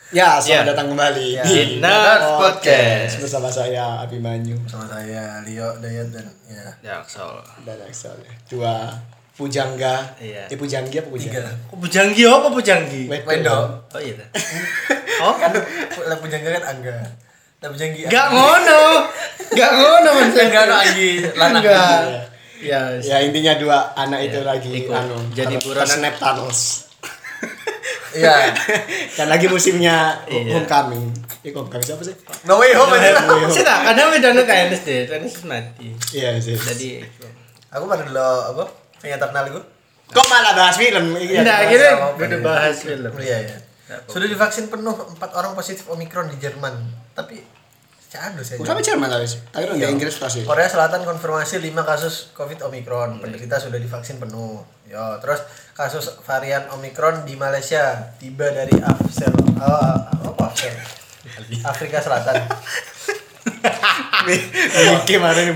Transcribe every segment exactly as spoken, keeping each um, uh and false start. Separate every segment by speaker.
Speaker 1: Ya, selamat
Speaker 2: Ya.
Speaker 1: datang kembali
Speaker 2: Ya.
Speaker 1: di
Speaker 2: Nerds Podcast.
Speaker 1: bersama saya Abimanyu
Speaker 3: Sama saya Leo, Dayat dan ya.
Speaker 2: Jaksel.
Speaker 1: dan Axel. Dua pujangga.
Speaker 2: Iya.
Speaker 1: Eh pujanggi apa pujangga?
Speaker 3: Tiga.
Speaker 2: Kok pujanggi apa pujanggi?
Speaker 1: Wedo.
Speaker 3: Wedo.
Speaker 2: Oh iya. Oh
Speaker 3: Kan lah pujangga kan Angga. Lah pujanggi.
Speaker 2: Gak ngono. Gak ngono maksudnya.
Speaker 3: Enggak ada Anggi lanang.
Speaker 2: Enggak. Ya,
Speaker 1: Ya intinya dua anak itu
Speaker 2: Iya,
Speaker 1: lagi
Speaker 2: ikut.
Speaker 1: anu
Speaker 2: Jadi
Speaker 1: ter-
Speaker 2: buronan.
Speaker 1: tersnap Thanos.
Speaker 3: Iya.
Speaker 1: Dan lagi musimnya
Speaker 2: Iya.
Speaker 1: Homecoming. Eh Homecoming siapa sih?
Speaker 3: No way home aja.
Speaker 2: sih tak kadang udah anu kayak Ernest deh, Ernest mati.
Speaker 1: Iya sih.
Speaker 2: Jadi
Speaker 3: Aku pada dulu apa? Pengen terkenal itu.
Speaker 1: Kok malah bahas film? Iya.
Speaker 2: enggak
Speaker 3: bahas
Speaker 2: akhirnya
Speaker 3: apa-apa
Speaker 2: udah
Speaker 3: ya.
Speaker 2: bahas film.
Speaker 3: Iya ya. Sudah divaksin penuh empat orang positif Omikron di Jerman. Tapi Cado saya.
Speaker 1: Sampai Jerman tadi sih. Tapi
Speaker 3: Iya.
Speaker 1: di Inggris pasti.
Speaker 3: Korea Selatan konfirmasi lima kasus Covid Omikron. Penderita sudah divaksin penuh. Yo, terus kasus varian Omikron di Malaysia tiba dari Afsel. Oh, apa Afsel? Afrika Selatan.
Speaker 1: Mikir kemarin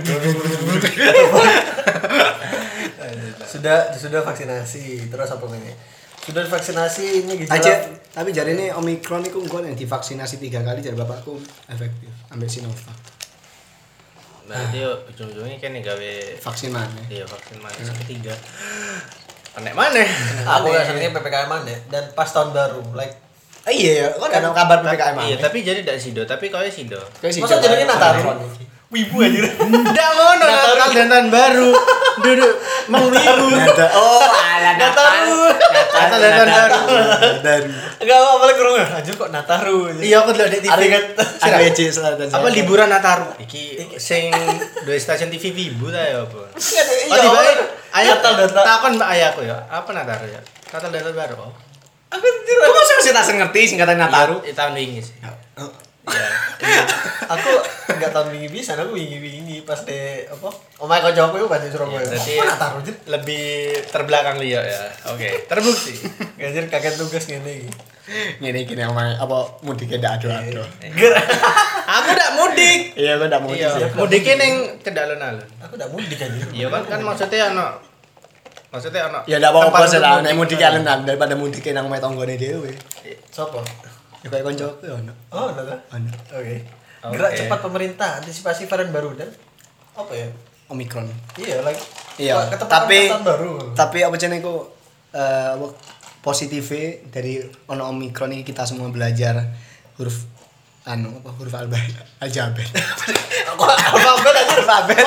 Speaker 3: sudah sudah vaksinasi. Terus apa ini? Sudah vaksinasi ini gejala.
Speaker 1: aja. Tapi jadi ini Omikron itu gue yang divaksinasi tiga kali jadi bapakku efektif. Ambil Sinovac.
Speaker 2: Berarti yo ujung-ujungnya kan nih gawe
Speaker 1: Vaksin mana?
Speaker 2: iya vaksin mana ketiga. Panek mana?
Speaker 3: Aku ya sebenarnya P P K M deh dan pas tahun baru like
Speaker 1: Ah, iya ya, kok ada kabar P P K M
Speaker 2: Iya, tapi jadi tidak sido, tapi kau ya sido.
Speaker 3: masa jadinya Nataru. Wibu aja.
Speaker 2: Tidak ngono Natal dan tahun baru. Duduk mengwibu.
Speaker 1: Oh, ala
Speaker 2: Nataru. Natal dan tahun baru.
Speaker 1: Dan
Speaker 3: Enggak apa-apa lagi kurang. Anjir kok Nataru aja.
Speaker 2: Iya, aku lihat di T V.
Speaker 3: Arigat.
Speaker 1: ada W C selatan.
Speaker 2: Apa liburan Nataru? Iki sing dua stasiun T V Wibu ta ya apa? Oh,
Speaker 3: Iya,
Speaker 2: tiba ayah
Speaker 3: Natal dan ta-
Speaker 2: takon mbak ayahku ya. Apa Nataru ya? Natal dan tahun baru. Oh.
Speaker 3: Aku tidak.
Speaker 1: Kok masih masih tak ngerti singkatan Nataru?
Speaker 2: Iya, tahun ini sih. Iya.
Speaker 3: Aku enggak tahu wingi bisa, aku wingi-wingi pas de apa? Omae kancaku yo pas di Surabaya.
Speaker 2: Berarti
Speaker 3: Kok Nataru aja?
Speaker 2: lebih terbelakang Leo ya. Oke, terbukti.
Speaker 3: Anjir kaget tugas ngene iki.
Speaker 1: Ngene iki nang omae apa mudike ndak ado-ado.
Speaker 3: Ger.
Speaker 2: Aku ndak mudik.
Speaker 1: Iya, kok ndak mudik.
Speaker 2: Iya,
Speaker 1: sih.
Speaker 2: mudiknya ning cedek alun-alun.
Speaker 3: Aku udah mudik anjir.
Speaker 2: Iya kan kan maksudnya ono maksudnya ono
Speaker 1: Ya ndak apa-apa
Speaker 2: tempat
Speaker 1: sih
Speaker 2: untuk
Speaker 1: lah,
Speaker 2: mudik.
Speaker 1: nek mudik alun-alun daripada mudik nang omae tanggane dhewe.
Speaker 3: Sopo?
Speaker 1: Ya kayak koncoku ya ono.
Speaker 3: Oh, udah.
Speaker 1: Ono.
Speaker 3: Oke.
Speaker 2: Oke.
Speaker 3: Gerak cepat pemerintah antisipasi varian baru dan apa ya?
Speaker 1: Omikron.
Speaker 3: Iya, like
Speaker 1: Iya,
Speaker 3: ketepatan
Speaker 1: tapi
Speaker 3: tahun baru.
Speaker 1: tapi apa jenenge ku eh apa positifnya dari ono Omikron ini kita semua belajar huruf anu apa huruf alfabet alfabet.
Speaker 3: Aku alfabet aja
Speaker 1: Alfabet.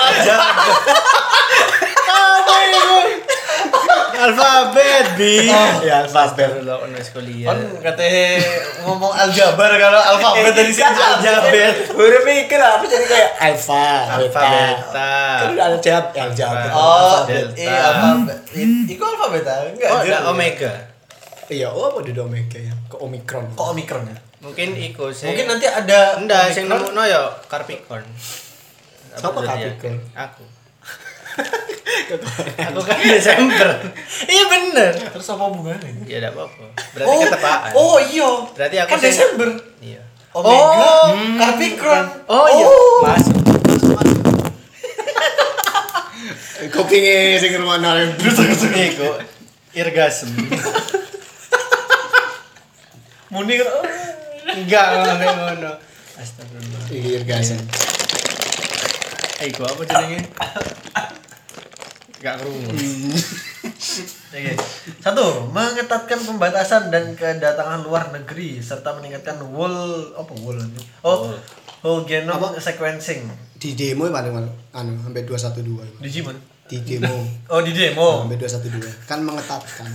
Speaker 2: Alfabet bi.
Speaker 1: Ya alfabet.
Speaker 2: Astagfirullah ono kuliah.
Speaker 3: Kan katanya ngomong aljabar kalau alfabet dari sini
Speaker 1: Alfabet. Huruf mikir apa jadi kayak alfa,
Speaker 2: Alfa, beta.
Speaker 1: Kan udah ada jawab alfabet.
Speaker 3: Oh,
Speaker 2: Delta.
Speaker 3: iya alfabet. I- Iku alfabet ah? Enggak.
Speaker 2: Oh,
Speaker 3: anjir.
Speaker 2: ada omega.
Speaker 1: Iya, oh apa di omega ya? Ke omikron.
Speaker 3: Kok Omikron ya?
Speaker 2: Mungkin iku sing
Speaker 3: Mungkin nanti ada
Speaker 2: ndak sing
Speaker 3: Omikron.
Speaker 2: nemuno ya Capricorn.
Speaker 1: Siapa
Speaker 2: Apa zodiak?
Speaker 1: Capricorn?
Speaker 2: Aku. Aku kan Desember. Iya bener.
Speaker 3: Terus apa hubungannya?
Speaker 2: Ya enggak apa-apa. Berarti ketepaan.
Speaker 3: Oh iya.
Speaker 2: Berarti aku
Speaker 3: kan
Speaker 2: sing-
Speaker 3: Desember.
Speaker 2: Iya.
Speaker 3: Omega, Capricorn.
Speaker 2: Oh iya, masuk.
Speaker 1: Kupinge sing ngrungokno terus
Speaker 2: Iku irgasm.
Speaker 3: Muni kan. oh.
Speaker 2: Enggak ngono ngono. Astagfirullah.
Speaker 1: Iya gasen.
Speaker 2: Eh, gua apa jenenge? Enggak kerungu.
Speaker 3: Oke. Satu, mengetatkan pembatasan dan kedatangan luar negeri serta meningkatkan whole apa whole ini? Oh, whole genome sequencing.
Speaker 1: Di demo paling anu sampai dua satu dua.
Speaker 3: Di Jiman.
Speaker 1: Di demo
Speaker 3: Oh, di demo.
Speaker 1: sampai dua satu dua. Kan mengetatkan.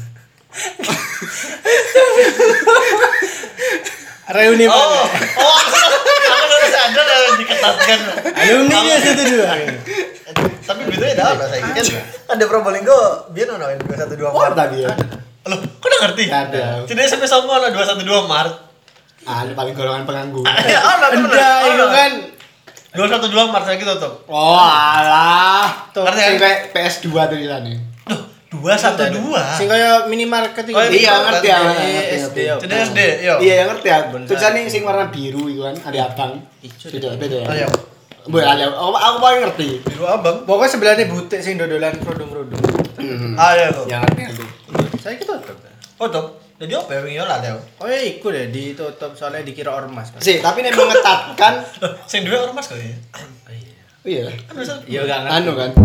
Speaker 2: Reuni
Speaker 3: Oh,
Speaker 2: mana?
Speaker 3: oh, aku baru sadar ada diketatkan.
Speaker 2: Alumni dia satu dua.
Speaker 3: Tapi bedanya ada apa saya kan? Ada Probolinggo, biar ono dua satu dua
Speaker 1: Oh,
Speaker 3: Maret.
Speaker 1: tadi ya.
Speaker 3: Loh, kok udah ngerti?
Speaker 1: Ada.
Speaker 3: Tidak sampai sama ono dua satu dua Maret.
Speaker 1: Ah, ini paling golongan pengangguran.
Speaker 3: Ya, ono temen.
Speaker 2: Enggak, itu kan
Speaker 3: dua satu dua Maret lagi tutup.
Speaker 1: Oh, alah.
Speaker 2: Tuh,
Speaker 1: Ngerti sing kayak P S dua tulisannya.
Speaker 3: Loh, dua satu dua.
Speaker 2: sing kaya minimarket itu.
Speaker 3: Oh,
Speaker 1: Iya, ngerti ya.
Speaker 2: Iya,
Speaker 1: ngerti,
Speaker 2: S D
Speaker 1: ngerti.
Speaker 2: ya.
Speaker 3: Jadi S D, yo.
Speaker 1: Iya, yang ngerti ya.
Speaker 2: Bener.
Speaker 1: Tulisannya sing warna biru itu kan, ada abang.
Speaker 2: Ijo.
Speaker 1: Beda, beda ya.
Speaker 3: Ayo.
Speaker 1: Boleh ada. Oh, aku paling ngerti.
Speaker 3: Biru abang.
Speaker 2: Pokoknya sebelahnya butik sing dodolan kerudung-kerudung.
Speaker 3: Ah, iya tuh.
Speaker 1: Yang ngerti ngerti.
Speaker 2: Saya kita tutup.
Speaker 3: Foto. Jadi apa ya wingi lah Teo?
Speaker 2: Oh ya iku deh ditutup soalnya dikira ormas kan.
Speaker 1: Sih, tapi nek mengetatkan
Speaker 3: Sing duwe ormas kok ya.
Speaker 2: Oh iya.
Speaker 1: oh iya.
Speaker 3: Kan bisa
Speaker 2: Ya enggak ngerti.
Speaker 1: Anu kan.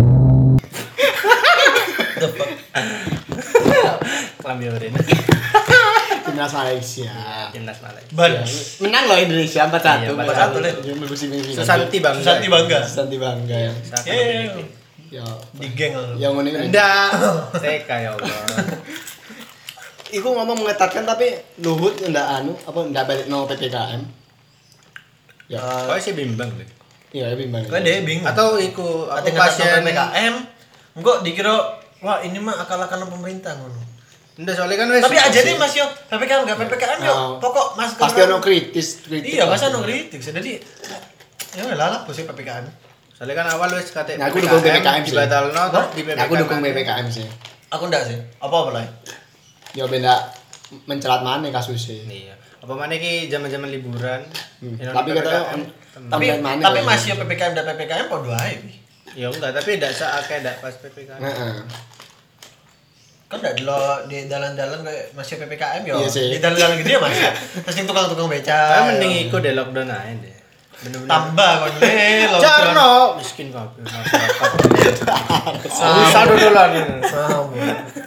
Speaker 2: Kelambi Arena.
Speaker 1: Timnas Malaysia.
Speaker 2: Timnas Malaysia.
Speaker 3: ban.
Speaker 1: Ya, menang loh Indonesia empat satu.
Speaker 2: Iya,
Speaker 3: empat satu, Le.
Speaker 2: Susanti bangga.
Speaker 3: Susanti bangga.
Speaker 1: Susanti bangga ya.
Speaker 2: Saka
Speaker 3: Eh,
Speaker 2: Filipin.
Speaker 1: Ya,
Speaker 3: di geng.
Speaker 1: yang ngene ini.
Speaker 2: Enggak. T K ya Allah.
Speaker 1: Iku ngomong mengetatkan tapi Luhut ndak anu apa ndak balik no P P K M. Ya,
Speaker 2: Kok sih bimbang deh.
Speaker 1: iya bimbang.
Speaker 3: Kan dia bingung.
Speaker 2: Atau iku
Speaker 3: Ate
Speaker 2: aku pasien
Speaker 3: P P K M, engko dikira wah ini mah akal-akalan pemerintah ngono.
Speaker 2: Enggak soalnya kan wes.
Speaker 3: Tapi aja nih Mas yo, P P K M enggak P P K M yo.
Speaker 1: Oh.
Speaker 3: Pokok Mas
Speaker 1: Pasti ono kritis, kritis.
Speaker 3: Iya, pasti ono kritik. Jadi ya weh lah lah bos P P K M.
Speaker 2: Soalnya kan awal wes kate
Speaker 1: Nah, aku dukung P P K M sih.
Speaker 2: dibatalno terus di P P K M.
Speaker 1: Aku dukung P P K M sih.
Speaker 3: Aku ndak sih. Apa-apa lah.
Speaker 1: Ya benda mencelat mana kasusnya.
Speaker 2: Iya. Apa mana ki zaman-zaman liburan.
Speaker 1: Hmm.
Speaker 2: Yang
Speaker 1: Tapi
Speaker 2: P P K M.
Speaker 1: katanya
Speaker 3: Tapi
Speaker 1: tambahan mana?
Speaker 3: tapi
Speaker 1: ya?
Speaker 3: masih yo P P K M dan P P K M podo ae. Pi.
Speaker 2: Ya enggak, tapi enggak saakeh enggak pas P P K M.
Speaker 1: Heeh.
Speaker 3: Kan ndak dulu di dalan-dalan kayak masih P P K M yo.
Speaker 1: Iya sih.
Speaker 3: Di dalan-dalan gede masih. Terus yang tukang-tukang beca.
Speaker 2: Tapi
Speaker 3: yo.
Speaker 2: mending iku deh lockdown aja deh. Bener-bener.
Speaker 3: Tambah kon le lockdown.
Speaker 2: Jarno miskin kabeh masyarakat. Susah dodolan.
Speaker 3: Sama.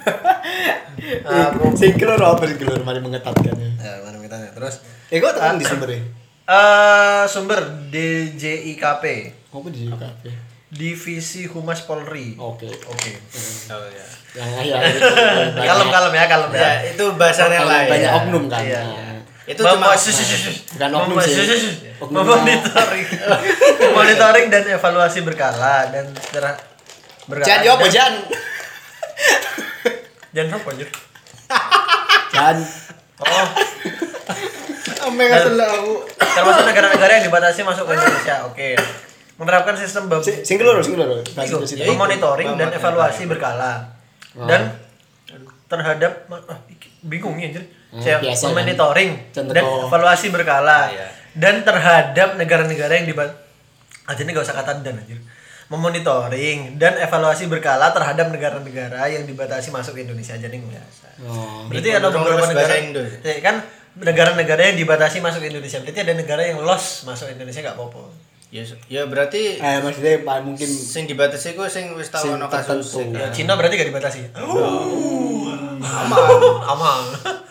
Speaker 1: Aku sing keluar apa sing keluar mari mengetatkan ya.
Speaker 3: Ya, mana kita terus
Speaker 1: Eh kok tekan di sumbernya?
Speaker 3: eh sumber D J I K P
Speaker 1: Apa di kafe?
Speaker 3: Divisi Humas Polri.
Speaker 1: Oke.
Speaker 3: Oke.
Speaker 2: Oh ya.
Speaker 1: Yang ya.
Speaker 3: Kalem kalem ya, kalem ya.
Speaker 2: Ya, itu bahasa yang lain.
Speaker 1: Banyak
Speaker 2: Ya.
Speaker 1: oknum kan.
Speaker 3: Iya,
Speaker 1: Nah,
Speaker 3: iya.
Speaker 2: Itu
Speaker 3: Mem-
Speaker 2: cuma
Speaker 3: sus- sus- sus.
Speaker 1: Bukan oknum
Speaker 3: Mem-
Speaker 1: sih.
Speaker 3: sus- sus- sus.
Speaker 1: Oknum.
Speaker 3: Monitoring. Monitoring dan evaluasi berkala dan secara berkala.
Speaker 1: Jan yo apa
Speaker 3: dan-
Speaker 1: Jan?
Speaker 3: Jan apa anjir?
Speaker 1: Jan.
Speaker 3: Oh,
Speaker 2: ame ngasel aku.
Speaker 3: termasuk negara-negara yang dibatasi masuk ke Indonesia. Oke. Menerapkan sistem bab-
Speaker 1: Si- Sing keluar, sing keluar.
Speaker 3: Iku,
Speaker 1: Kasih
Speaker 2: ya,
Speaker 3: memonitoring dan
Speaker 2: Bang,
Speaker 3: evaluasi
Speaker 2: Bang.
Speaker 3: berkala
Speaker 1: Oh.
Speaker 3: dan terhadap ah, iki- bingung nih anjir.
Speaker 1: Hmm,
Speaker 3: Saya
Speaker 1: biasa kan.
Speaker 3: memonitoring
Speaker 1: Contoh.
Speaker 3: dan evaluasi berkala
Speaker 2: Iya.
Speaker 3: dan terhadap negara-negara yang dibat aja ini gak usah kata dan anjir. Memonitoring dan evaluasi berkala terhadap negara-negara yang dibatasi masuk ke Indonesia aja nih biasa.
Speaker 1: Oh.
Speaker 3: Berarti ada
Speaker 2: Terus
Speaker 3: beberapa
Speaker 2: bahasa
Speaker 3: negara
Speaker 2: Indo.
Speaker 3: ya, kan negara-negara yang dibatasi masuk ke Indonesia. Berarti ada negara yang lost masuk Indonesia gak apa-apa.
Speaker 2: Ya, ya berarti
Speaker 1: Eh maksudnya Pak, mungkin
Speaker 2: sing dibatasi ku sing wis tau
Speaker 1: Sing
Speaker 2: ono kasus.
Speaker 1: tertentu.
Speaker 3: Ya Cina berarti gak dibatasi.
Speaker 2: Aman.
Speaker 3: Aman.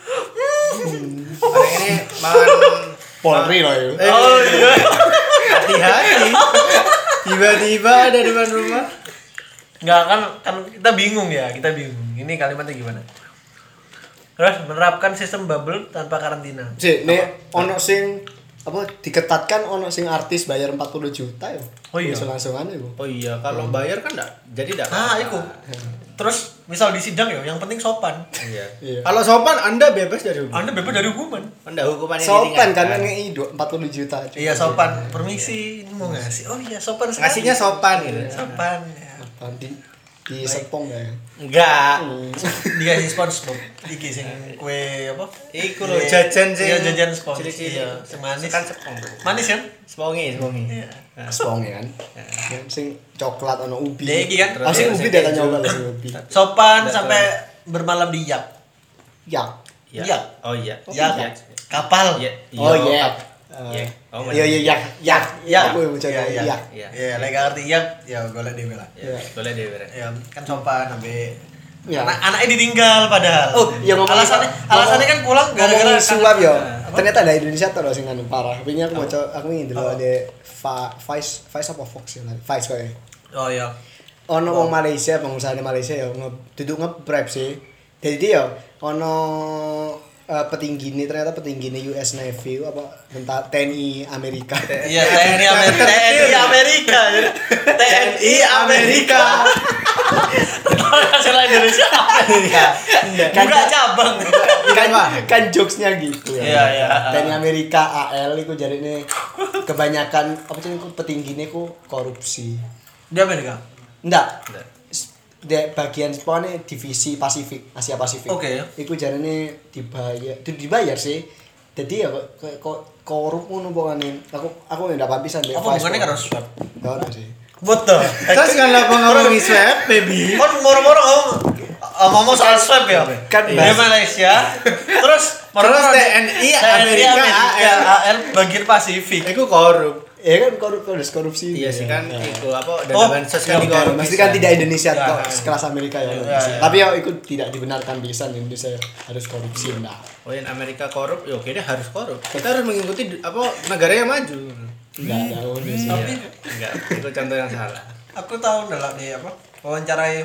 Speaker 2: Orang ini makan
Speaker 1: Polri loh ya.
Speaker 2: Eh,
Speaker 3: Oh iya.
Speaker 2: hati-hati. Tiba-tiba ada di depan rumah.
Speaker 3: Enggak kan kan kita bingung ya, kita bingung. Ini kalimatnya gimana? Terus menerapkan sistem bubble tanpa karantina.
Speaker 1: Si, nek ono sing apa diketatkan ono sing artis bayar empat puluh juta ya.
Speaker 3: Oh iya.
Speaker 1: Langsung-langsungan ya, Bu.
Speaker 2: Oh iya, kalau bayar kan enggak jadi enggak.
Speaker 3: Ah, itu. Terus misal di sidang ya, yang penting sopan.
Speaker 2: Iya.
Speaker 1: Iya.
Speaker 2: Kalau sopan Anda bebas dari hukum.
Speaker 3: Anda bebas dari hukuman.
Speaker 2: Anda hukumannya
Speaker 1: Sopan kan
Speaker 2: diringankan.
Speaker 1: ngei empat puluh juta.
Speaker 3: Iya sopan. Permisi, ini mau ngasih. Oh iya sopan sekali.
Speaker 2: Ngasihnya sopan gitu.
Speaker 3: Sopan. Ya.
Speaker 1: Apa di di sepong ya.
Speaker 2: Enggak.
Speaker 3: Dikasih SpongeBob. Iki sing kue apa?
Speaker 2: Iku lho jajan sing.
Speaker 3: Iya, jajan spons.
Speaker 2: Cilik-cilik.
Speaker 3: Iya, sing manis.
Speaker 2: Kan sepong.
Speaker 3: Manis kan?
Speaker 2: Sepongi, sepongi.
Speaker 3: Iya.
Speaker 1: Sepong ya kan. Yang sing coklat ono ubi.
Speaker 3: Dia iki kan.
Speaker 1: Ah sing
Speaker 2: Terus
Speaker 1: ubi
Speaker 2: yang
Speaker 1: dia
Speaker 2: keju.
Speaker 1: nyoba lah sing ubi.
Speaker 3: Sopan
Speaker 2: Nggak
Speaker 3: sampai bermalam di yak.
Speaker 1: Ya.
Speaker 2: Iya.
Speaker 3: Iya.
Speaker 2: Oh iya.
Speaker 3: Yak.
Speaker 2: Iya.
Speaker 3: Kapal.
Speaker 2: Iya.
Speaker 1: Oh iya.
Speaker 2: Iya. Oh,
Speaker 1: Iya iya ya. Ya.
Speaker 3: Ya.
Speaker 1: Aku yang mencoba
Speaker 3: Iya, iya.
Speaker 1: ya.
Speaker 2: Iya.
Speaker 3: Iya, lek gak ngerti yak, ya golek dhewe lah.
Speaker 2: Iya. Boleh deh, Bre.
Speaker 3: Ya, kan sopan sampai
Speaker 1: Ya.
Speaker 3: anak anaknya ditinggal padahal.
Speaker 1: Oh, iya ngomong
Speaker 3: alasannya alasannya kan pulang gara-gara
Speaker 1: ngomong suap yo.
Speaker 3: Apa?
Speaker 1: Ternyata ada Indonesia tuh sing anu parah. Wingi aku mau aku ingin dulu ada Fa- Vice Vice apa Fox ya. Vice kok ya.
Speaker 3: Oh iya.
Speaker 1: Ono wong Malaysia, pengusaha di Malaysia ya nge- duduk nge-bribe sih. Jadi dia ono eh, petinggi ini ternyata petinggi ini U S Navy apa tentara T N I Amerika.
Speaker 3: Iya, T N I Amerika. T N I Amerika. T N I Amerika. Hasil Indonesia Amerika. Buka cabang.
Speaker 1: kan kan jokesnya gitu ya.
Speaker 3: Iya, iya.
Speaker 1: T N I Amerika A L iku jarine kebanyakan apa sih iku petinggine ku korupsi.
Speaker 3: Di Amerika.
Speaker 1: Enggak.
Speaker 2: Enggak.
Speaker 1: Di bagian pokoknya divisi Pasifik, Asia Pasifik.
Speaker 3: Oke.
Speaker 1: Iku jarine dibayar, itu dibayar sih. Jadi ya kok kok korup ngono pokoknya. Aku aku ndak papisan deh.
Speaker 3: Apa hubungannya karo swab?
Speaker 1: Enggak ada sih.
Speaker 3: Betul.
Speaker 2: Terus kan apa ngomongin swab, baby?
Speaker 3: Kan moro-moro ngomong ngomong soal swab ya.
Speaker 1: Kan
Speaker 3: di
Speaker 1: bahas-
Speaker 3: Malaysia. Terus
Speaker 2: Terus T N I Amerika
Speaker 3: A R bagian Pasifik.
Speaker 2: Iku korup.
Speaker 1: Ya kan korup harus korupsi.
Speaker 2: Iya sih kan
Speaker 1: Ya.
Speaker 2: itu apa dana
Speaker 3: Oh,
Speaker 2: bansos kan
Speaker 1: Ya,
Speaker 2: dikorupsi.
Speaker 1: mesti kan tidak Indonesia
Speaker 3: Ya,
Speaker 1: kok
Speaker 3: ya.
Speaker 1: sekelas Amerika ya.
Speaker 3: Ya, ya.
Speaker 1: Tapi ya itu tidak dibenarkan bisa Indonesia harus korupsi nah.
Speaker 2: Oh yang Amerika korup, ya oke deh harus korup. Kita harus mengikuti apa negara yang maju.
Speaker 1: Enggak ada Indonesia.
Speaker 3: Tapi
Speaker 2: Iya. Enggak, itu contoh yang salah.
Speaker 3: aku tahu dalam nih apa wawancarai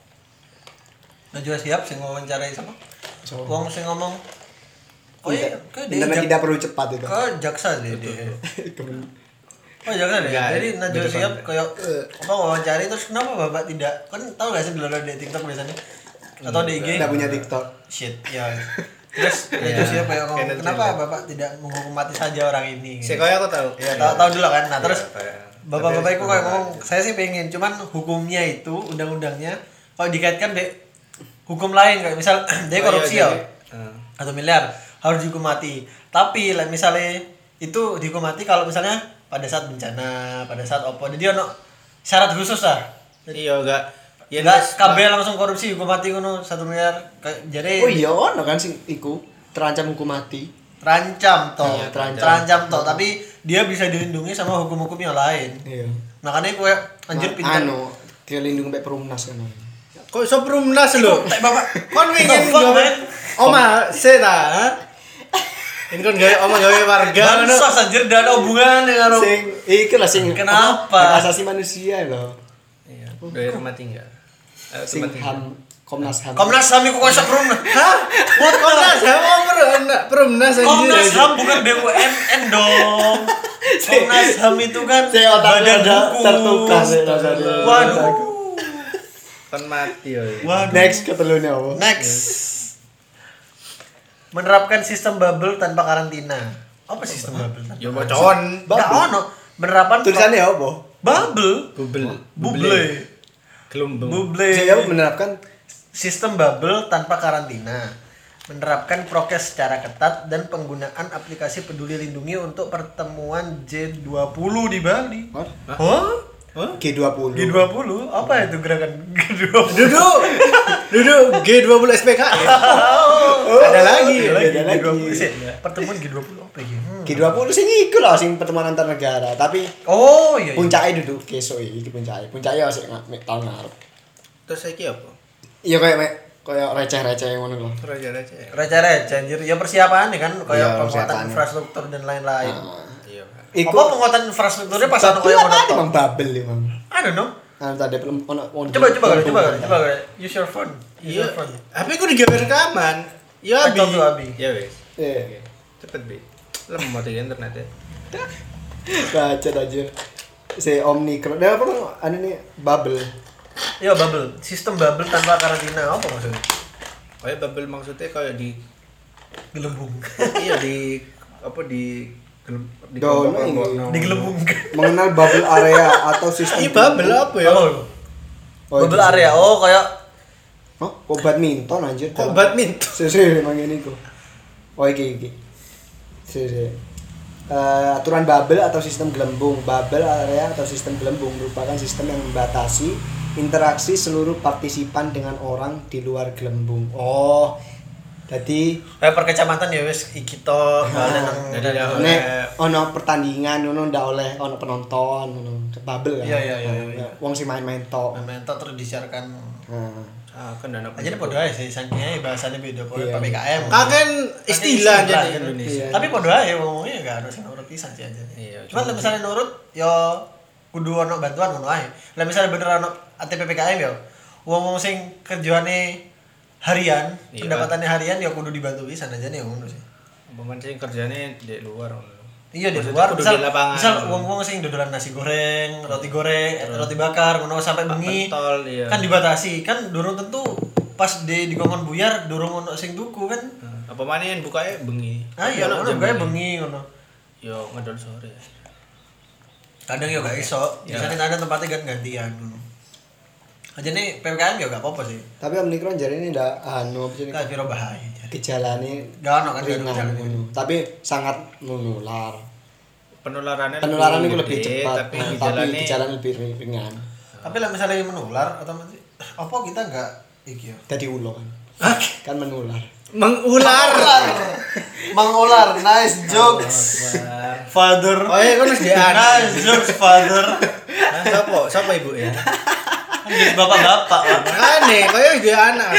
Speaker 3: Najwa Shihab sing wawancarai sama
Speaker 1: So,
Speaker 3: wong sing ngomong oh iya ke dia
Speaker 1: internet
Speaker 3: jak-
Speaker 1: tidak perlu cepat itu.
Speaker 3: ke jaksa deh dia
Speaker 1: Kemen-
Speaker 3: oh jaksa deh
Speaker 2: Enggak,
Speaker 3: jadi Najwa
Speaker 2: betul,
Speaker 3: Shihab
Speaker 2: Pak.
Speaker 3: kayak apa wawancari terus kenapa bapak tidak kan tahu gak sih dulu di TikTok biasanya atau di I G
Speaker 1: Tidak punya TikTok.
Speaker 3: shit ya terus Najwa
Speaker 2: Iya.
Speaker 3: Shihab kayak ngomong
Speaker 2: Kena
Speaker 3: kenapa
Speaker 2: juga.
Speaker 3: bapak tidak menghukum mati saja orang ini
Speaker 2: Si Koya aku tahu.
Speaker 3: ya tahu tahu dulu kan nah terus
Speaker 2: Iya, kayak-
Speaker 3: bapak-bapak itu
Speaker 2: tapi-
Speaker 3: kayak ngomong saya sih pengen cuman hukumnya itu undang-undangnya kalau dikaitkan deh hukum lain kayak misal dia
Speaker 2: Oh,
Speaker 3: korupsi
Speaker 2: iya,
Speaker 3: ya
Speaker 2: jadi, eh.
Speaker 3: satu miliar harus dihukum mati tapi like, misalnya itu dihukum mati kalau misalnya pada saat bencana pada saat apa jadi ono syarat khusus lah
Speaker 2: Iya enggak. Ya
Speaker 3: nggak
Speaker 2: Mas,
Speaker 3: K B langsung korupsi hukum mati ngono satu miliar Kayak- jadi
Speaker 1: Oh iya ono kan sing iku terancam hukum mati.
Speaker 3: terancam toh
Speaker 1: Iya, terancam.
Speaker 3: terancam toh tapi dia bisa dilindungi sama hukum-hukum yang lain
Speaker 1: Iya.
Speaker 3: makanya gue anjir pintar
Speaker 1: Anu, dilindungi sampai perumnas kan.
Speaker 2: kok iso perumnas lho?
Speaker 3: tak bapak
Speaker 2: Kon
Speaker 3: The
Speaker 2: ingin
Speaker 3: fuck,
Speaker 2: gawe
Speaker 3: man?
Speaker 2: oma seta. Ini kon gawe oma gawe warga ngono.
Speaker 3: bansos anjir dan hubungan dengan
Speaker 1: Sing iki lah sing
Speaker 3: Kenapa?
Speaker 1: apa, hak asasi manusia loh.
Speaker 2: Iya, gawe rumah tinggal. Eh,
Speaker 1: Sing
Speaker 2: rumah tinggal.
Speaker 1: ham Komnas Ham.
Speaker 3: Komnas H A M iku konsep rumah
Speaker 2: Hah? Buat Komnas Ham apa perumnas? Perumnas anjir.
Speaker 3: Komnas H A M bukan B U M N dong. Komnas H A M itu kan
Speaker 1: Si otaknya
Speaker 3: badan
Speaker 1: ada
Speaker 3: hukum.
Speaker 1: tertukar sih rasanya.
Speaker 3: Waduh.
Speaker 2: Kon mati yo.
Speaker 3: Waduh.
Speaker 1: Next ketelunya apa?
Speaker 3: Next. Menerapkan sistem bubble tanpa karantina. Apa sistem bubble? tanpa
Speaker 2: Yo
Speaker 3: karantina?
Speaker 2: bocon.
Speaker 3: Nggak ono. Penerapan
Speaker 1: Tulisannya apa?
Speaker 3: bubble.
Speaker 2: Bubble.
Speaker 3: Buble.
Speaker 2: Gelombang.
Speaker 3: Buble.
Speaker 1: Saya menerapkan
Speaker 3: Sistem bubble tanpa karantina, menerapkan prokes secara ketat dan penggunaan aplikasi Peduli Lindungi untuk pertemuan G dua puluh di Bali.
Speaker 1: Hah?
Speaker 3: Hah?
Speaker 1: G dua puluh.
Speaker 3: G dua puluh? Apa itu gerakan G dua puluh?
Speaker 2: Duduk. Duduk G dua puluh S P K.
Speaker 1: Oh,
Speaker 2: Ada lagi.
Speaker 1: Ada lagi.
Speaker 3: G dua puluh. Sih, pertemuan G dua puluh apa ya? Hmm.
Speaker 1: G dua puluh sing iku lah sing pertemuan antar negara, tapi
Speaker 3: Oh iya. iya.
Speaker 1: puncaknya duduk kesuk iki puncaknya. Puncaknya sik mek tahun ngarep.
Speaker 2: Terus saiki apa?
Speaker 1: Iya kayak mek kayak receh-receh ngono loh.
Speaker 2: Raja-raja.
Speaker 3: Receh-receh anjir. Ya persiapan nih kan kayak
Speaker 1: Iya,
Speaker 3: penguatan
Speaker 1: persiapan.
Speaker 3: infrastruktur dan lain-lain.
Speaker 1: Nah,
Speaker 2: Iya, Pak.
Speaker 1: iku
Speaker 3: Apa penguatan infrastrukturnya pas ono
Speaker 1: babel
Speaker 3: kayak ngono
Speaker 1: apa
Speaker 3: tok?
Speaker 1: emang babel emang.
Speaker 3: I don't know.
Speaker 1: Anu tadi belum ono ono-
Speaker 3: Coba coba kali, coba kali, coba kali. Use your phone. Use
Speaker 2: Iya.
Speaker 3: your phone.
Speaker 2: Tapi aku digawe rekaman. Ya
Speaker 3: Abi.
Speaker 2: abi.
Speaker 3: Abi.
Speaker 2: Ya wes.
Speaker 1: Iya.
Speaker 2: Cepet bi. Lemot iki internet ya.
Speaker 1: Bacot aja. Si Omnicron. Nah, apa anu nih bubble.
Speaker 3: Iya bubble, sistem bubble tanpa karantina apa maksudnya?
Speaker 2: Kayak bubble maksudnya kayak di
Speaker 3: Gelembung.
Speaker 2: iya di apa di gelem- di
Speaker 1: Dono
Speaker 2: kelompok-kelompok,
Speaker 1: ini.
Speaker 2: no.
Speaker 3: Digelembung.
Speaker 1: Mengenal bubble area atau sistem
Speaker 2: Iya bubble apa ya?
Speaker 3: Oh,
Speaker 1: Oh,
Speaker 3: bubble
Speaker 1: itu
Speaker 3: area. Oh, kayak
Speaker 1: Hah? Kok badminton anjir?
Speaker 2: Kok badminton?
Speaker 1: Sih, emang ini kok. Oh, iki iki. Sih, sih. Eh, aturan bubble atau sistem gelembung. Bubble area atau sistem gelembung merupakan sistem yang membatasi interaksi seluruh partisipan dengan orang di luar gelembung. Oh. Jadi
Speaker 3: kayak per kecamatan ya wis iki to balen nang
Speaker 2: Jadi ya,
Speaker 1: nek ono pertandingan ngono ndak oleh ono penonton ngono. Bubble kan.
Speaker 3: Iya, iya, iya, iya.
Speaker 1: Wong sing main-main tok.
Speaker 3: main tok terus disiarkan.
Speaker 1: Nah.
Speaker 2: Ah, kan dana.
Speaker 3: Aja podo ae sih saking bahasanya beda kok
Speaker 1: Iya.
Speaker 3: P P K M.
Speaker 2: Kaken istilah
Speaker 3: Kaken
Speaker 2: jadi
Speaker 3: kan.
Speaker 2: Indonesia.
Speaker 1: Iya.
Speaker 3: Tapi podo ae ngomongnya enggak harus nurut pisan sih aja.
Speaker 2: Iya,
Speaker 3: Cuma
Speaker 2: cuma-
Speaker 3: misalnya nurut yo kudu ono bantuan ngono ae. Lah misalnya bener ono A T P P K M yo. Wong-wong sing kerjaane harian,
Speaker 2: Iya.
Speaker 3: pendapatannya harian ya kudu dibantu pisan aja nih ngono sih.
Speaker 2: Pemain sing kerjane di luar.
Speaker 3: Iya di
Speaker 2: Maksudnya
Speaker 3: luar
Speaker 2: kudu
Speaker 3: misal,
Speaker 2: di lapangan.
Speaker 3: misal wong-wong sing dodolan nasi goreng, roti goreng, eh, roti bakar, ngono sampai bengi.
Speaker 2: Pentol, iya.
Speaker 3: Kan dibatasi, kan durung tentu pas di dikongkon buyar durung ono sing tuku kan.
Speaker 2: Nah, apa maneh yang bukanya bengi.
Speaker 3: Ah iya,
Speaker 2: Ono
Speaker 3: ono
Speaker 2: jam
Speaker 3: gawe bengi ngono.
Speaker 2: Yo ngedol sore.
Speaker 3: Kadang yo gak iso,
Speaker 2: Ya.
Speaker 3: biasanya ada tempatnya kan gantian ngono. Aja nih P P K M yo gak apa-apa sih.
Speaker 1: Tapi Omnicron jare ini ndak anu apa sih?
Speaker 3: Gak kira bahaya.
Speaker 1: Gejalane
Speaker 3: Gak ono kan
Speaker 1: ringan
Speaker 3: gejala
Speaker 1: ngono. Tapi sangat menular.
Speaker 2: Penularannya
Speaker 1: Penularan itu
Speaker 2: gede,
Speaker 1: lebih cepat,
Speaker 2: tapi
Speaker 1: nah, tapi
Speaker 2: gejalanya
Speaker 1: gejalanya lebih ringan.
Speaker 3: Tapi lah misalnya menular otomatis apa kita enggak Iki ya.
Speaker 1: Dadi ulo kan. Kan menular.
Speaker 2: Mengular.
Speaker 3: Mengular, nice jokes. Father.
Speaker 2: Oh iya, kan harus dia anak.
Speaker 3: Nice jokes, father.
Speaker 2: Nah, siapa? Siapa ibu ya?
Speaker 3: Kan jadi bapak-bapak, Pak.
Speaker 2: Makanya, kau yang dia anak.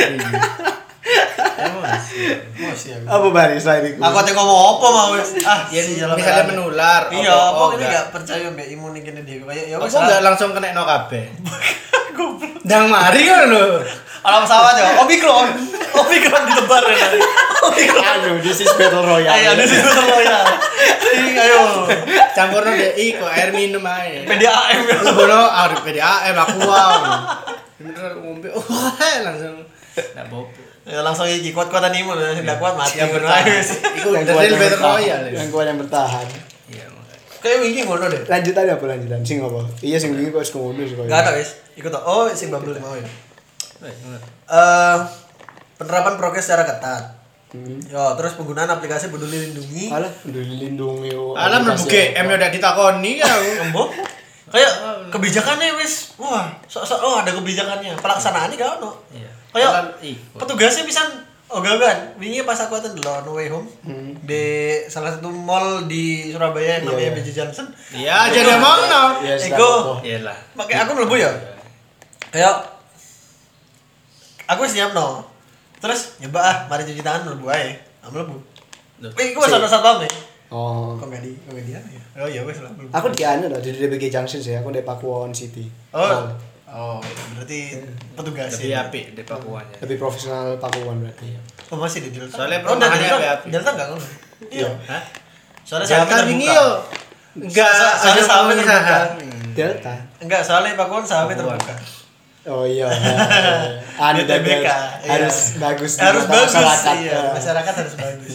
Speaker 2: Emosi.
Speaker 3: Emosi aku.
Speaker 1: Apa bari selain itu?
Speaker 3: Aku ate ngomong apa mau wis. Ah,
Speaker 2: Ya,
Speaker 3: sialan.
Speaker 2: misalnya menular.
Speaker 3: Iya,
Speaker 2: apa-
Speaker 3: apa
Speaker 2: oh,
Speaker 3: ini
Speaker 2: enggak.
Speaker 3: enggak percaya mbek imun iki dia. Kayak ya wis.
Speaker 2: Aku enggak langsung kena no kabeh. Dang mari kan lho.
Speaker 3: Alam pesawat ya, Omikron. Omikron ditebar ya. Omikron.
Speaker 1: Anu, this is battle royale.
Speaker 3: Ayo, ini sih betul ya. Ayo.
Speaker 2: Campurno dek iko air minum ae.
Speaker 3: P D A M ya.
Speaker 2: Lebono air P D A M aku wow. Bener ngombe. Wah, langsung enggak bobo.
Speaker 3: Ya langsung iki kuat-kuatan imun ya, enggak kuat mati.
Speaker 2: Yang
Speaker 3: Bener
Speaker 2: bertahan.
Speaker 3: aja.
Speaker 2: Iku
Speaker 1: Yang
Speaker 2: the
Speaker 1: kuat
Speaker 2: real
Speaker 1: yang
Speaker 2: battle
Speaker 1: bertahan.
Speaker 2: royale.
Speaker 1: Yang kuat yang bertahan.
Speaker 2: Iya, makanya.
Speaker 3: Kayak wingi ngono deh.
Speaker 1: Lanjutannya apa lanjutan? Sing apa? Iya sing wingi kok wis ngono sih kok.
Speaker 3: Enggak ada wis. Ikut tok. Oh, sing bubble mau ya.
Speaker 2: Wes, ngono.
Speaker 3: Eh penerapan prokes secara ketat.
Speaker 1: Hmm.
Speaker 3: Yo, terus penggunaan aplikasi Peduli Lindungi.
Speaker 1: Alah, dilindungi yo.
Speaker 2: Alam mlebu G M udah ditakoni ya.
Speaker 3: Embo. Kayak kebijakannya wis, wah, sok-sok oh ada kebijakannya. Pelaksanaannya gak ono.
Speaker 2: Iya.
Speaker 3: Kayak
Speaker 2: ikut.
Speaker 3: petugasnya bisa ogah-ogahan. Wingi pas aku aten delok No Way Home
Speaker 1: Hmm.
Speaker 3: di salah satu mall di Surabaya yang namanya
Speaker 1: Iya,
Speaker 3: B J Johnson.
Speaker 2: Iya, jadi emangno.
Speaker 1: Iya,
Speaker 3: Ego.
Speaker 2: Iyalah.
Speaker 3: Pakai aku mlebu ya. Kayak aku wis nyiapno. Terus nyoba ah, mari cuci tangan mlebu ae. Ah mlebu.
Speaker 2: Loh.
Speaker 3: Wih, gua sana satpam nih.
Speaker 1: Oh.
Speaker 3: Kok enggak di, kok enggak di apa ya? Oh iya wis lah mlebu.
Speaker 1: Aku di anu loh, di D B G Junction sih, aku di Pakuwon City.
Speaker 3: Oh. Oh, berarti petugas
Speaker 2: Lebih
Speaker 3: ya.
Speaker 2: apik di Pakuannya.
Speaker 1: Lebih profesional Pakuwon berarti.
Speaker 3: Oh, masih di Delta.
Speaker 2: Soalnya
Speaker 3: oh,
Speaker 2: perumahannya
Speaker 3: Delta,
Speaker 2: api-api.
Speaker 3: Delta enggak ngono. Iya.
Speaker 2: Hah?
Speaker 3: Soalnya saya
Speaker 2: Delta
Speaker 3: terbuka.
Speaker 2: ini yo. Enggak,
Speaker 3: So- soalnya
Speaker 2: ada
Speaker 3: sahamnya
Speaker 2: pengusaha.
Speaker 3: terbuka.
Speaker 1: Delta.
Speaker 3: Enggak, soalnya Pakuan sahamnya
Speaker 2: Pakuan.
Speaker 3: terbuka.
Speaker 1: Oh iya. Anu
Speaker 3: D T B K,
Speaker 1: harus,
Speaker 3: iya.
Speaker 1: harus bagus di
Speaker 3: Harus
Speaker 1: mata
Speaker 3: bagus
Speaker 1: masyarakat.
Speaker 3: iya,
Speaker 1: Eh.
Speaker 3: masyarakat harus bagus.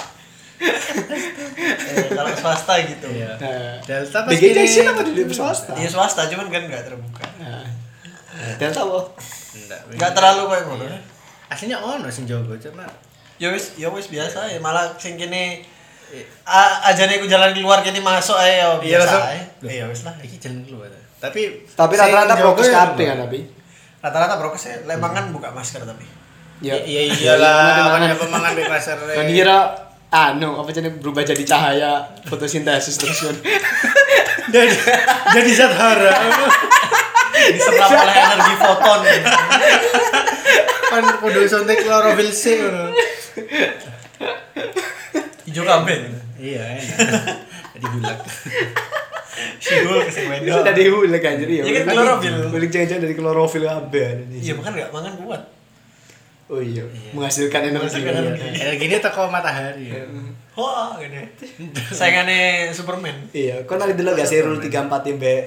Speaker 3: eh, kalau swasta gitu.
Speaker 2: Iya.
Speaker 1: Eh,
Speaker 2: Delta
Speaker 1: B
Speaker 2: pas
Speaker 1: G
Speaker 2: kini-
Speaker 1: Junction apa di swasta?
Speaker 3: Iya swasta cuman kan enggak terbuka.
Speaker 1: Eh, Delta apa?
Speaker 2: Enggak.
Speaker 3: Enggak terlalu kayak ngono.
Speaker 2: Iya. Aslinya ono sing jogo cuma
Speaker 3: Ya wis, ya wis biasa ya. Malah sing kene a- ajane ku jalan keluar kene masuk ae ya
Speaker 2: Iya,
Speaker 3: biasa
Speaker 2: langsung.
Speaker 3: ae. Iya wis lah.
Speaker 2: iki jalan keluar. Tapi
Speaker 1: Tapi
Speaker 2: sing
Speaker 1: rata-rata
Speaker 2: jogo
Speaker 1: prokes
Speaker 2: ya
Speaker 1: kabeh kan
Speaker 2: keluar.
Speaker 1: tapi.
Speaker 3: Rata-rata prokes ya. Lek mangan buka masker tapi.
Speaker 1: Ya.
Speaker 2: Iya iyalah, makanya pemangan di pasar.
Speaker 1: Kan kira anu apa jenenge berubah jadi cahaya fotosintesis terus kan.
Speaker 2: jadi jadi zat hara.
Speaker 3: Diserap oleh energi foton.
Speaker 2: Kan kudu suntik klorofil C ngono.
Speaker 3: Ijo kabeh.
Speaker 2: Iya, enak. Jadi bulat.
Speaker 3: Sidul ke sing
Speaker 1: Itu
Speaker 3: wedok.
Speaker 1: dari hulek anjir ya.
Speaker 3: Iya kan klorofil.
Speaker 1: Hulek jangan-jangan dari klorofil kabeh.
Speaker 3: Iya makan enggak mangan kuat.
Speaker 1: Oh iya, menghasilkan energi.
Speaker 3: Menghasilkan
Speaker 1: Iya.
Speaker 3: energi.
Speaker 2: Energi ini teko matahari. Ya.
Speaker 3: Wah, gini. Saingannya Superman.
Speaker 1: Iya, kau nanti dulu gak sih rule tiga empat ya, Mbak?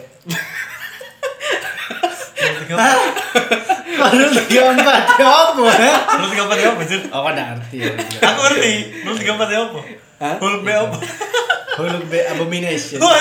Speaker 2: Baru tiga empat ya apa?
Speaker 3: Rule tiga empat apa, Jun?
Speaker 2: Oh, kan arti ya.
Speaker 3: Aku ngerti. Rule tiga empat apa?
Speaker 1: Hah?
Speaker 3: Hulk B apa?
Speaker 2: Hulk B abomination.
Speaker 3: Wah,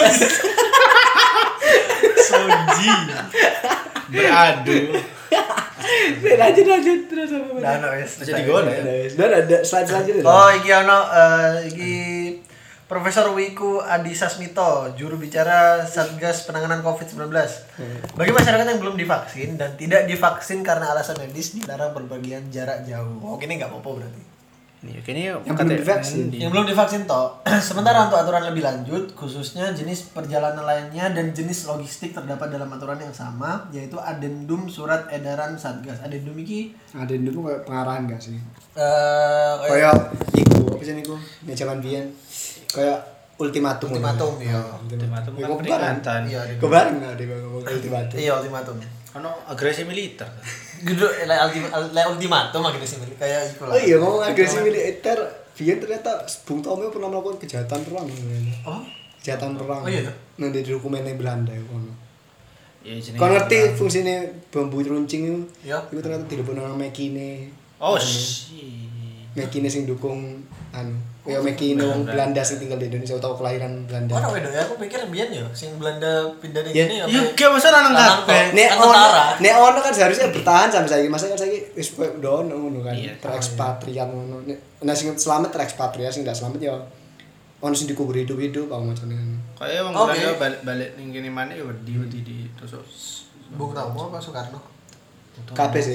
Speaker 3: Soji.
Speaker 2: Beradu.
Speaker 1: Lanjut lanjut terus apa?
Speaker 3: Nah, no, wes.
Speaker 2: Masih digolek.
Speaker 1: Dan ada slide selanjutnya.
Speaker 3: Oh, iki ono eh, iki Profesor Wiku Adi Sasmito, juru bicara Satgas Penanganan covid sembilan belas. Bagi masyarakat yang belum divaksin dan tidak divaksin karena alasan medis dilarang berpergian jarak jauh. Oh, gini nggak apa-apa berarti.
Speaker 2: Nih, kayaknya
Speaker 1: Yang belum divaksin.
Speaker 3: Yang belum divaksin toh. Sementara untuk aturan lebih lanjut, khususnya jenis perjalanan lainnya dan jenis logistik terdapat dalam aturan yang sama, yaitu Adendum Surat Edaran Satgas. Adendum iki
Speaker 1: Ada dulu kayak pengarahan gak sih?
Speaker 3: eh
Speaker 1: Kayak iku apa sih niku? Nek zaman biyen kayak ultimatum.
Speaker 3: ultimatum ya.
Speaker 2: Ultimatum
Speaker 1: Iku
Speaker 2: kan peringatan.
Speaker 3: Iya,
Speaker 1: Kebareng enggak ada ngomong ultimatum.
Speaker 3: Iya, ultimatum.
Speaker 2: Ono agresi militer.
Speaker 3: Gitu, le ultimatum, le ultimatum lagi di sini kayak iku lah.
Speaker 1: Oh iya ngomong agresi militer, biyen ternyata Bung Tomo pernah melakukan kejahatan perang.
Speaker 3: Oh,
Speaker 1: Kejahatan perang.
Speaker 3: Oh iya.
Speaker 1: Nang di dokumennya Belanda ya kono.
Speaker 2: Ya jenenge.
Speaker 1: Kau ngerti fungsinya bambu runcing itu?
Speaker 3: Iya.
Speaker 1: Itu ternyata tidak pernah Mekine.
Speaker 2: Oh, sih.
Speaker 1: Mekine sing dukung anu. Ya Mekine wong Belanda sing tinggal di Indonesia atau kelahiran Belanda.
Speaker 3: Mana wedo ya? Aku pikir biyen ya, sing Belanda pindah dari
Speaker 1: Ya.
Speaker 3: sini apa?
Speaker 2: Ya gak masa nang
Speaker 3: Lanang
Speaker 2: kabeh.
Speaker 3: kok.
Speaker 1: Nek
Speaker 3: Kan
Speaker 1: ono,
Speaker 3: tentara.
Speaker 1: nek ono kan seharusnya bertahan sampai saiki. Masa kan saiki wis koyo dono ngono kan.
Speaker 2: Iya.
Speaker 1: Terekspatriat ngono. Nek nah sing selamat terekspatriat sing ndak selamat ya ono sing dikubur hidup-hidup apa macamnya.
Speaker 2: Kayak wong
Speaker 3: Oke.
Speaker 2: Belanda balik-balik ning kene maneh ya wedi wedi ditusuk.
Speaker 3: Bung Tomo apa Soekarno?
Speaker 1: Kabeh sih.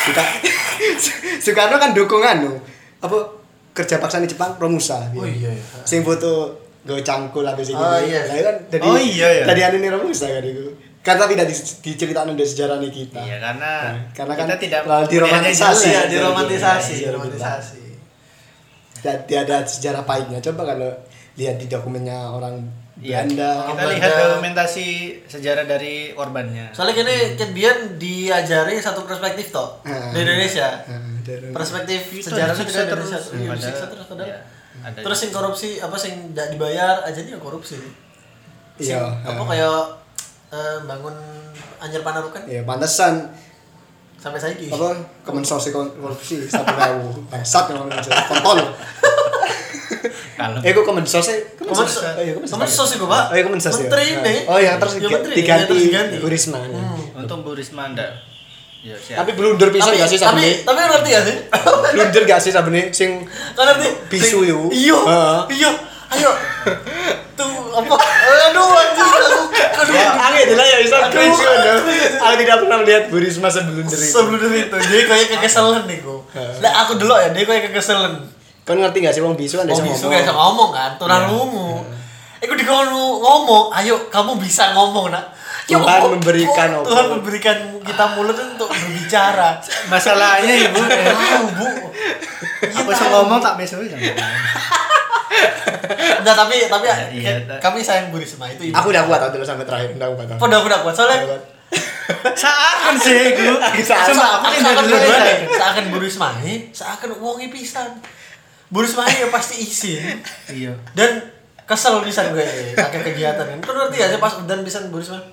Speaker 1: Suka Soekarno kan dukung anu apa kerja paksa di Jepang Romusa.
Speaker 3: Oh iya iya.
Speaker 1: Sing foto gue cangkul habis ini.
Speaker 3: Oh, iya.
Speaker 1: Lah kan dari
Speaker 2: Oh, iya, iya.
Speaker 1: Dari anu nih Romusa kan itu. Karena tidak di- diceritakan dari sejarahnya kita.
Speaker 2: Iya, karena
Speaker 1: Nah, karena kan
Speaker 2: kita tidak
Speaker 1: terlalu diromantisasi.
Speaker 3: Iya,
Speaker 1: Iya,
Speaker 3: diromantisasi,
Speaker 1: iya,
Speaker 3: diromantisasi.
Speaker 1: Dan tiada sejarah pahitnya. Coba kalau lihat di dokumennya orang
Speaker 2: Iya,
Speaker 1: Belanda.
Speaker 2: kita
Speaker 3: Belanda.
Speaker 2: lihat dokumentasi sejarah dari korbannya.
Speaker 3: Soalnya kini Ket Bian diajari satu perspektif toh
Speaker 1: Ah.
Speaker 3: di Indonesia.
Speaker 1: Nah, dari-
Speaker 3: Perspektif
Speaker 2: Itu
Speaker 3: sejarah
Speaker 2: disiksa
Speaker 3: kita di Indonesia.
Speaker 2: terus.
Speaker 3: Iya,
Speaker 2: Padahal-
Speaker 3: disiksa terus padahal.
Speaker 2: iya, ada
Speaker 3: Terus
Speaker 2: juga.
Speaker 3: yang korupsi apa sing tidak dibayar aja dia korupsi. Sing
Speaker 1: Iya,
Speaker 3: apa
Speaker 1: ah.
Speaker 3: kayak eh, bangun Anyer Panarukan
Speaker 1: Ya pantesan
Speaker 3: sampai saiki.
Speaker 1: apa kemensos korupsi satu ribu bangsat yang ngomong kontol.
Speaker 2: Kalau
Speaker 1: Eh kok kemensos sih?
Speaker 3: Kemensos.
Speaker 1: Oh iya kemensos.
Speaker 3: Kemensos iku, Pak.
Speaker 1: Oh iya kemensos ya.
Speaker 3: Menteri ini.
Speaker 1: Oh iya terus
Speaker 3: Ya, menteri,
Speaker 1: diganti
Speaker 3: ya, terus diganti.
Speaker 1: Bu Risma. ya.
Speaker 3: Hmm.
Speaker 2: untung Bu Risma ndak. Ya, siap.
Speaker 1: Tapi blunder pisan
Speaker 3: Tapi
Speaker 1: gak sih
Speaker 3: tapi
Speaker 1: sabene?
Speaker 3: tapi ngerti gak sih?
Speaker 1: Blunder gak sih sabene sing
Speaker 3: Kan ngerti?
Speaker 1: Bisu
Speaker 3: Sing-
Speaker 1: yuk.
Speaker 3: Iya.
Speaker 1: Heeh.
Speaker 3: Iya. Ayo. Tuh apa? Aduh anjir aku. Aduh.
Speaker 1: Angin adalah ya bisa cringe kan. Aku tidak pernah melihat Bu Risma seblunder itu.
Speaker 3: Sebelum itu dia kayak kekeselan nih kok. Lah aku dulu ya dia kayak kekeselan.
Speaker 1: Kan ngerti gak sih wong bisu kan
Speaker 3: Oh
Speaker 1: bisa
Speaker 3: bisu
Speaker 1: ngomong.
Speaker 3: kayak ngomong kan, turan lumu. Iku dikono ngomong, ayo kamu bisa ngomong nak. Ya
Speaker 1: Tuhan
Speaker 3: Allah,
Speaker 1: memberikan
Speaker 3: oh,
Speaker 1: apa?
Speaker 3: Tuhan memberikan kita mulut untuk berbicara.
Speaker 2: Masalahnya Ibu,
Speaker 3: Tahu bu.
Speaker 2: aku bisa ngomong tak bisa.
Speaker 3: Nah tapi tapi
Speaker 2: Iya,
Speaker 3: eh, kami sayang Bu Risma itu ibu.
Speaker 1: Aku udah kuat dulu sampai terakhir, udah kuat.
Speaker 3: Udah udah kuat soalnya.
Speaker 1: Udah kuat.
Speaker 2: Seakan sih Ibu.
Speaker 1: Seakan.
Speaker 2: Sumpah, aku
Speaker 3: Seakan
Speaker 2: tidak dulu
Speaker 3: dua
Speaker 2: saya.
Speaker 3: nih, seakan Bu Risma ini, seakan wongi pisan. Bu Risma ini ya pasti izin
Speaker 2: Iya.
Speaker 3: dan kesel pisan gue pakai kegiatan kan. Kau ngerti aja pas udan pisan Bu Risma.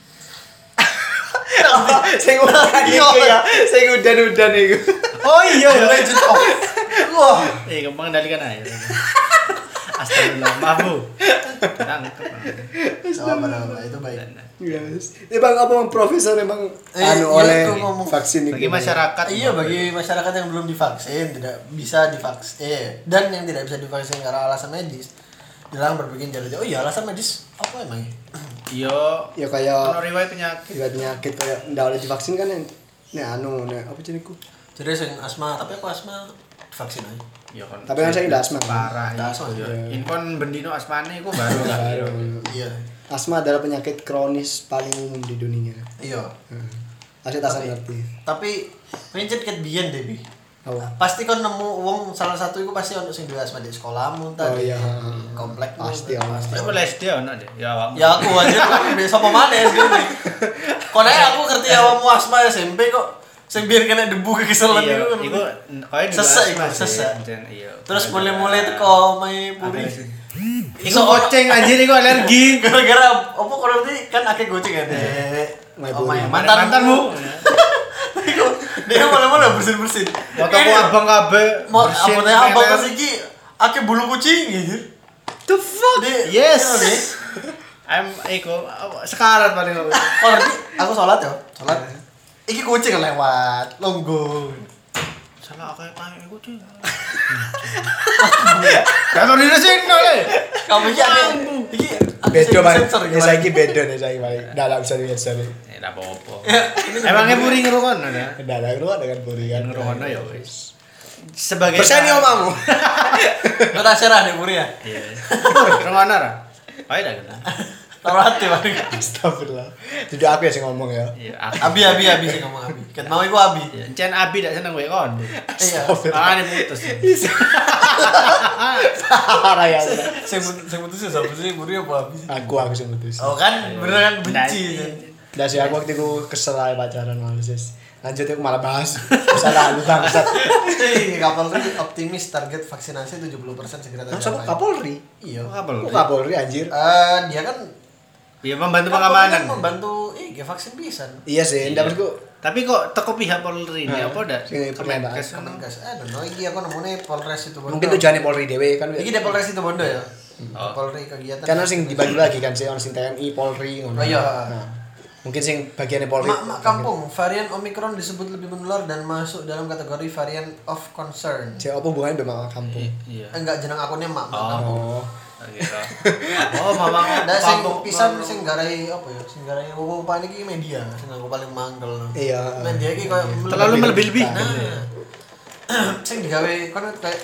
Speaker 1: Sing udah gitu ya, sing udan-udan itu.
Speaker 2: Oh iya ya.
Speaker 3: Legend of. Wah.
Speaker 2: Eh, kamu mengendalikan air. Astagfirullah, maaf Bu. Tangkap.
Speaker 3: Sama pada itu baik.
Speaker 1: Yes. Ini bang apa bang profesor emang
Speaker 3: Eh,
Speaker 1: anu
Speaker 3: iya,
Speaker 1: oleh
Speaker 3: tuh ngomong.
Speaker 1: vaksin itu.
Speaker 2: Bagi masyarakat.
Speaker 3: Iya bagi masyarakat yang belum divaksin tidak bisa divaksin eh, dan yang tidak bisa divaksin karena alasan medis dilarang berpergian jauh jauh. Oh iya alasan medis apa emang?
Speaker 2: Iya.
Speaker 1: Ya kayak
Speaker 2: Ono riwayat penyakit.
Speaker 1: riwayat penyakit kayak ndak oleh divaksin kan yang nih anu nih apa jenengku.
Speaker 3: Jadi sing asma tapi aku asma divaksin aja.
Speaker 2: Iya kan.
Speaker 1: Tapi kan saya ndak asma.
Speaker 2: Parah.
Speaker 3: Ndak
Speaker 2: Ndak
Speaker 3: asma,
Speaker 2: asma.
Speaker 1: iya.
Speaker 2: Infon bendino asmane iku baru lah.
Speaker 1: Baru.
Speaker 3: Iya.
Speaker 1: Asma adalah penyakit kronis paling umum di dunia.
Speaker 3: Iya.
Speaker 1: Hmm. Asli tak ngerti.
Speaker 3: Tapi pencet ket biyen deh bi.
Speaker 1: Oh.
Speaker 3: Pasti kan nemu uang salah satu itu pasti untuk sing duwe asma di sekolahmu
Speaker 1: Oh
Speaker 3: tadi.
Speaker 1: iya.
Speaker 3: Komplek
Speaker 1: Pasti,
Speaker 3: pasti.
Speaker 2: Tapi boleh S D ono deh. Ya awakmu.
Speaker 3: Ya aku aja kan bisa apa mana S D nih. Kok nek aku ngerti awakmu asma S M P kok sing biar kena debu kekeselan
Speaker 2: Iya,
Speaker 3: itu.
Speaker 2: iku koyo di
Speaker 3: Sesek,
Speaker 2: asma
Speaker 3: iku,
Speaker 2: sih.
Speaker 3: sesek.
Speaker 2: Jen, Iya.
Speaker 3: Terus mulai-mulai itu kok main puri.
Speaker 2: Iku goceng anjir iku alergi.
Speaker 3: Gara-gara apa kalau nanti kan akeh goceng ya deh.
Speaker 1: Main
Speaker 3: Oh,
Speaker 1: puri.
Speaker 3: main
Speaker 2: Mantan mantanmu.
Speaker 3: Iku dia mulai-mulai bersin-bersin.
Speaker 2: Fotoku abang kabeh.
Speaker 3: Mau
Speaker 2: bersin,
Speaker 3: apa teh abang
Speaker 2: meler.
Speaker 3: pas iki akeh bulu kucing gitu.
Speaker 2: The fuck?
Speaker 3: Dia-
Speaker 2: Yes.
Speaker 3: iya, deh.
Speaker 2: I'm Eko sekarat paling aku.
Speaker 3: Oh nanti aku sholat ya, sholat. Iki kucing lewat, longgo.
Speaker 2: Salah aku kayak iku cuy. Kantor di sini le.
Speaker 3: Kamu iki akeh iki akeh
Speaker 1: Bedo
Speaker 3: sing
Speaker 1: paling.
Speaker 3: sensor
Speaker 1: Ya
Speaker 3: gimana?
Speaker 1: saiki bedo nih saiki paling. Ndak lah bisa dilihat sini.
Speaker 2: Eh, enggak apa-apa.
Speaker 3: Ya, ini
Speaker 2: Emangnya puri ngerungokno ya?
Speaker 1: Ndak lah lu dengan puri kan.
Speaker 2: Ngerungokno ya wis. Sebagai
Speaker 1: Persen yo omamu.
Speaker 3: Kota serah nih Puri ya.
Speaker 2: Iya. Ngerungokno ra? Ayo dah kena.
Speaker 3: Taruh hati paling.
Speaker 1: Astagfirullah. Tidak aku ya sing ngomong ya.
Speaker 2: Iya,
Speaker 3: Abi abi abi sih ngomong abi. Ket mau iku abi.
Speaker 2: Iya, Encen Abi dak seneng kowe kon.
Speaker 3: Iya.
Speaker 2: Ah, ini putus.
Speaker 1: Parah ya.
Speaker 3: Sing sing putus siapa sih Puri apa abi sih?
Speaker 1: Aku aku sing putus.
Speaker 3: Oh kan beneran benci.
Speaker 1: Ndak sih aku waktu itu kesel aja pacaran malah sis. Lanjut aku malah bahas. Salah lu bangsat.
Speaker 3: Hei, Kapolri optimis target vaksinasi tujuh puluh persen segera
Speaker 1: Nah,
Speaker 3: tercapai.
Speaker 1: sama Kapolri.
Speaker 3: Iya.
Speaker 2: Kapolri.
Speaker 1: Kok Kapolri anjir?
Speaker 3: Eh, dia kan
Speaker 2: Iya, membantu
Speaker 3: Kapolri
Speaker 2: pengamanan.
Speaker 3: kan membantu eh ge vaksin pisan.
Speaker 1: Iya sih, ndak maksudku
Speaker 2: Tapi kok teko pihak Polri ini
Speaker 1: Nah,
Speaker 2: apa dak?
Speaker 1: sing pernyataan.
Speaker 2: Kemenkes
Speaker 3: Kan
Speaker 2: ngono.
Speaker 3: gas. Eh, no iki aku nemune Polres itu Bondo.
Speaker 1: mungkin tujuannya Polri dhewe kan.
Speaker 3: Iki di Polres itu Bondo ya.
Speaker 2: Oh.
Speaker 3: Polri kegiatan.
Speaker 1: Karena sing dibagi lagi kan sih orang sing T N I, Polri ngono.
Speaker 3: Oh iya.
Speaker 1: Nah, mungkin sing bagiannya Polri.
Speaker 3: Mak-mak kampung, varian Omicron disebut lebih menular dan masuk dalam kategori varian of concern.
Speaker 1: Cek apa hubungannya sama kampung?
Speaker 2: Iya.
Speaker 3: Eh, enggak jeneng akunnya mak-mak
Speaker 2: Oh.
Speaker 3: kampung.
Speaker 1: Oh.
Speaker 2: Gitu. Oh, mama
Speaker 3: Nah, sing pisan sing garai apa ya? Sing garai wong paling iki media, sing aku paling mangkel.
Speaker 1: Iya.
Speaker 3: Media iki koyo
Speaker 2: terlalu melebih-lebih.
Speaker 3: Nah. Sing digawe kono kayak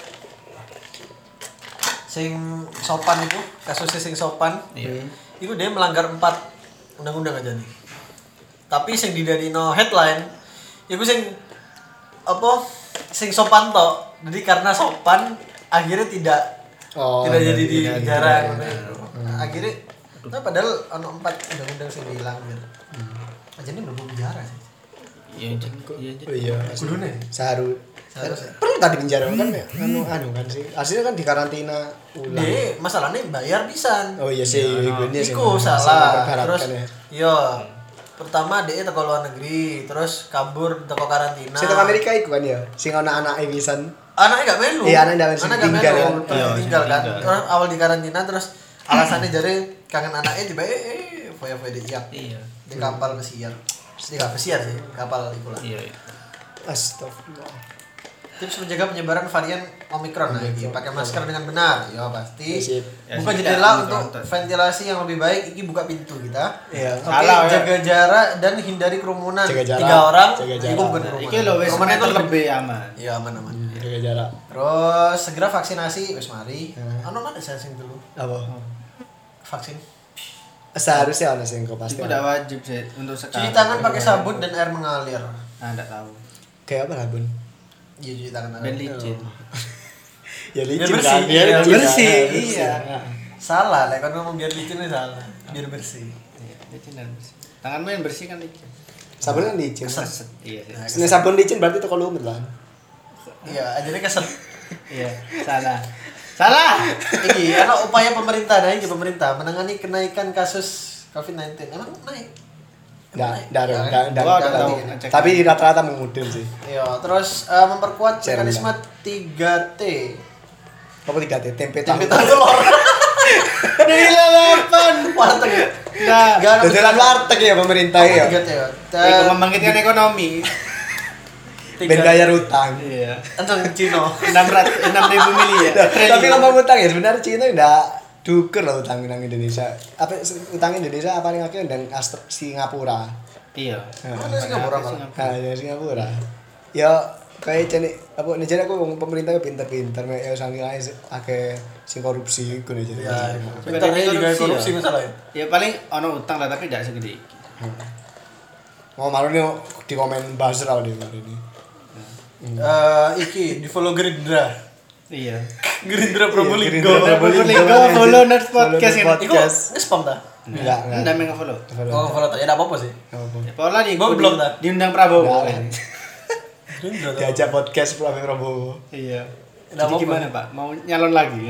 Speaker 3: sing sopan itu, kasusnya sing sopan.
Speaker 2: Iya.
Speaker 3: Iku dia melanggar empat undang-undang aja nih. Tapi sing didadino headline, iku sing apa? Sing sopan tok. Jadi karena sopan akhirnya tidak
Speaker 1: Oh,
Speaker 3: tidak jadi
Speaker 1: jadi
Speaker 3: di
Speaker 1: tidak
Speaker 3: negara.
Speaker 1: tidak.
Speaker 3: Akhirnya nah padahal ono empat undang-undang sing dilanggar. Aja ini belum bicara sih.
Speaker 2: Iya, Jen. Iya, Jen.
Speaker 1: Oh iya.
Speaker 3: Kudune.
Speaker 1: Seharu.
Speaker 3: Seharusnya.
Speaker 1: Perlu tadi penjara kan ya? Anu anu kan sih. Aslinya kan di karantina ulang.
Speaker 3: Deh, masalahnya bayar pisan.
Speaker 1: Oh iya sih,
Speaker 2: Iya,
Speaker 1: ini sih.
Speaker 3: Iku
Speaker 1: sangat
Speaker 3: salah.
Speaker 1: berharapkan
Speaker 3: Terus
Speaker 1: ya.
Speaker 3: iya. Pertama dia teko luar negeri, terus kabur teko karantina.
Speaker 1: Saya teko Amerika iku kan ya. Sing ana anake pisan.
Speaker 3: Anaknya gak melu.
Speaker 1: Iya, anaknya gak melu,
Speaker 3: Anaknya gak
Speaker 1: tinggal
Speaker 3: melu,
Speaker 1: kan.
Speaker 3: terus
Speaker 2: Iya,
Speaker 3: tinggal kan.
Speaker 2: tinggal.
Speaker 3: Terus awal di karantina terus alasannya jadi kangen anaknya tiba eh eh foya-foya di siap.
Speaker 2: Iya.
Speaker 3: Di kapal pesiar. Di kapal pesiar sih, kapal itu lah.
Speaker 2: Iya.
Speaker 1: Astagfirullah.
Speaker 3: Tips menjaga penyebaran varian Omicron nah, iki pakai masker dengan benar. Ya pasti.
Speaker 1: Sip.
Speaker 3: Buka
Speaker 2: Ya,
Speaker 3: jendela
Speaker 2: sip.
Speaker 3: untuk
Speaker 2: Omicron.
Speaker 3: ventilasi yang lebih baik. Iki buka pintu kita.
Speaker 1: Iya.
Speaker 3: Oke,
Speaker 2: Salah, ya.
Speaker 3: jaga jarak dan hindari kerumunan.
Speaker 1: Jaga jarak,
Speaker 3: Tiga orang,
Speaker 1: jaga
Speaker 3: itu
Speaker 1: jarak.
Speaker 3: bukan kerumunan.
Speaker 2: Iki lho wis
Speaker 3: Kerumunan itu
Speaker 2: meter lebih aman.
Speaker 3: Iya aman-aman.
Speaker 1: Jaga jarak.
Speaker 3: Terus segera vaksinasi, wis mari.
Speaker 1: Hmm.
Speaker 3: Ano mana saya sing dulu?
Speaker 1: Apa?
Speaker 3: Vaksin.
Speaker 1: Seharusnya ana sing kok pasti.
Speaker 2: Itu udah wajib sih untuk sekarang.
Speaker 3: Cuci tangan pakai sabun dan air mengalir.
Speaker 2: Ah, enggak tahu.
Speaker 1: Kayak apa lah, Bun?
Speaker 3: Iya cuci tangan.
Speaker 2: Ben
Speaker 3: air.
Speaker 2: licin.
Speaker 1: Ya
Speaker 3: Biar
Speaker 1: licin
Speaker 3: bersih,
Speaker 1: kan.
Speaker 3: iya,
Speaker 1: licin
Speaker 2: bersih,
Speaker 1: kan,
Speaker 2: iya.
Speaker 1: Nah.
Speaker 3: Salah, lah kan ngomong biar licin itu salah. Biar bersih.
Speaker 2: Iya, licin dan bersih. Tanganmu yang bersih kan licin.
Speaker 1: Sabun kan licin.
Speaker 3: Keset.
Speaker 2: Iya sih.
Speaker 3: Nah,
Speaker 1: Nek sabun licin berarti toko lumut lah.
Speaker 3: Iya, akhirnya keset.
Speaker 2: Iya, salah. Salah.
Speaker 3: Iki, ana upaya pemerintah nah iki pemerintah menangani kenaikan kasus covid sembilan belas. Emang naik? Emang
Speaker 1: Nggak,
Speaker 3: naik?
Speaker 1: nggak,
Speaker 3: Nggak,
Speaker 1: nggak,
Speaker 3: kan?
Speaker 1: nggak,
Speaker 2: Gua
Speaker 1: nggak
Speaker 2: udah
Speaker 1: tahu.
Speaker 2: tahu, ngecek.
Speaker 1: Tapi rata-rata mengudun sih.
Speaker 3: Iya, terus eh, memperkuat
Speaker 1: Share
Speaker 3: mekanisme tiga T.
Speaker 1: Apa tiga T? Tempe
Speaker 3: Tempe
Speaker 1: tahu.
Speaker 3: tahu telur.
Speaker 2: Delapan.
Speaker 3: Warteg.
Speaker 2: Nah,
Speaker 3: Enggak ada.
Speaker 1: Dalam warteg ya pemerintah ya.
Speaker 3: tiga T ya.
Speaker 2: itu membangkitkan ekonomi.
Speaker 1: Ben bayar utang.
Speaker 2: Iya.
Speaker 3: Antong Cino.
Speaker 2: enam ratus enam ribu miliar.
Speaker 1: Tapi ngomong utang ya sebenarnya Cina udah duker lah utang nang Indonesia. Apa utang Indonesia apa ning akeh dan Astro- Singapura.
Speaker 2: Iya.
Speaker 3: Mana Singapura malah?
Speaker 1: Nah, ya Singapura. Ya kayak cene apa nih jadi aku ngomong pemerintah pinter-pinter mek ya sangi ae akeh sing korupsi iku nih jadi.
Speaker 3: Ya,
Speaker 2: Sebenarnya
Speaker 3: pintarnya juga
Speaker 2: korupsi
Speaker 3: korupsi
Speaker 2: ya.
Speaker 3: masalah ya.
Speaker 2: Ya paling ono utang lah tapi tidak segede iki.
Speaker 1: Mau malu nih di komen buzzer deh hari ini.
Speaker 3: Eh iki di follow Gerindra.
Speaker 2: Iya.
Speaker 3: Gerindra Probolinggo.
Speaker 1: Gerindra
Speaker 2: Probolinggo, follow Nerds Podcast ini.
Speaker 3: Iku nge-spam ta?
Speaker 1: Enggak, enggak.
Speaker 2: Enggak mengen follow.
Speaker 3: Oh, follow ta. Ya enggak apa-apa sih.
Speaker 1: Apa?
Speaker 2: Pola di
Speaker 3: Gua belum dah.
Speaker 2: diundang Prabowo.
Speaker 1: Enggak.
Speaker 3: Gerindra ta.
Speaker 1: Diajak podcast Prabowo Prabowo.
Speaker 2: Iya.
Speaker 3: Nggak
Speaker 2: Jadi
Speaker 3: apa-apa.
Speaker 2: gimana Pak? Mau nyalon lagi?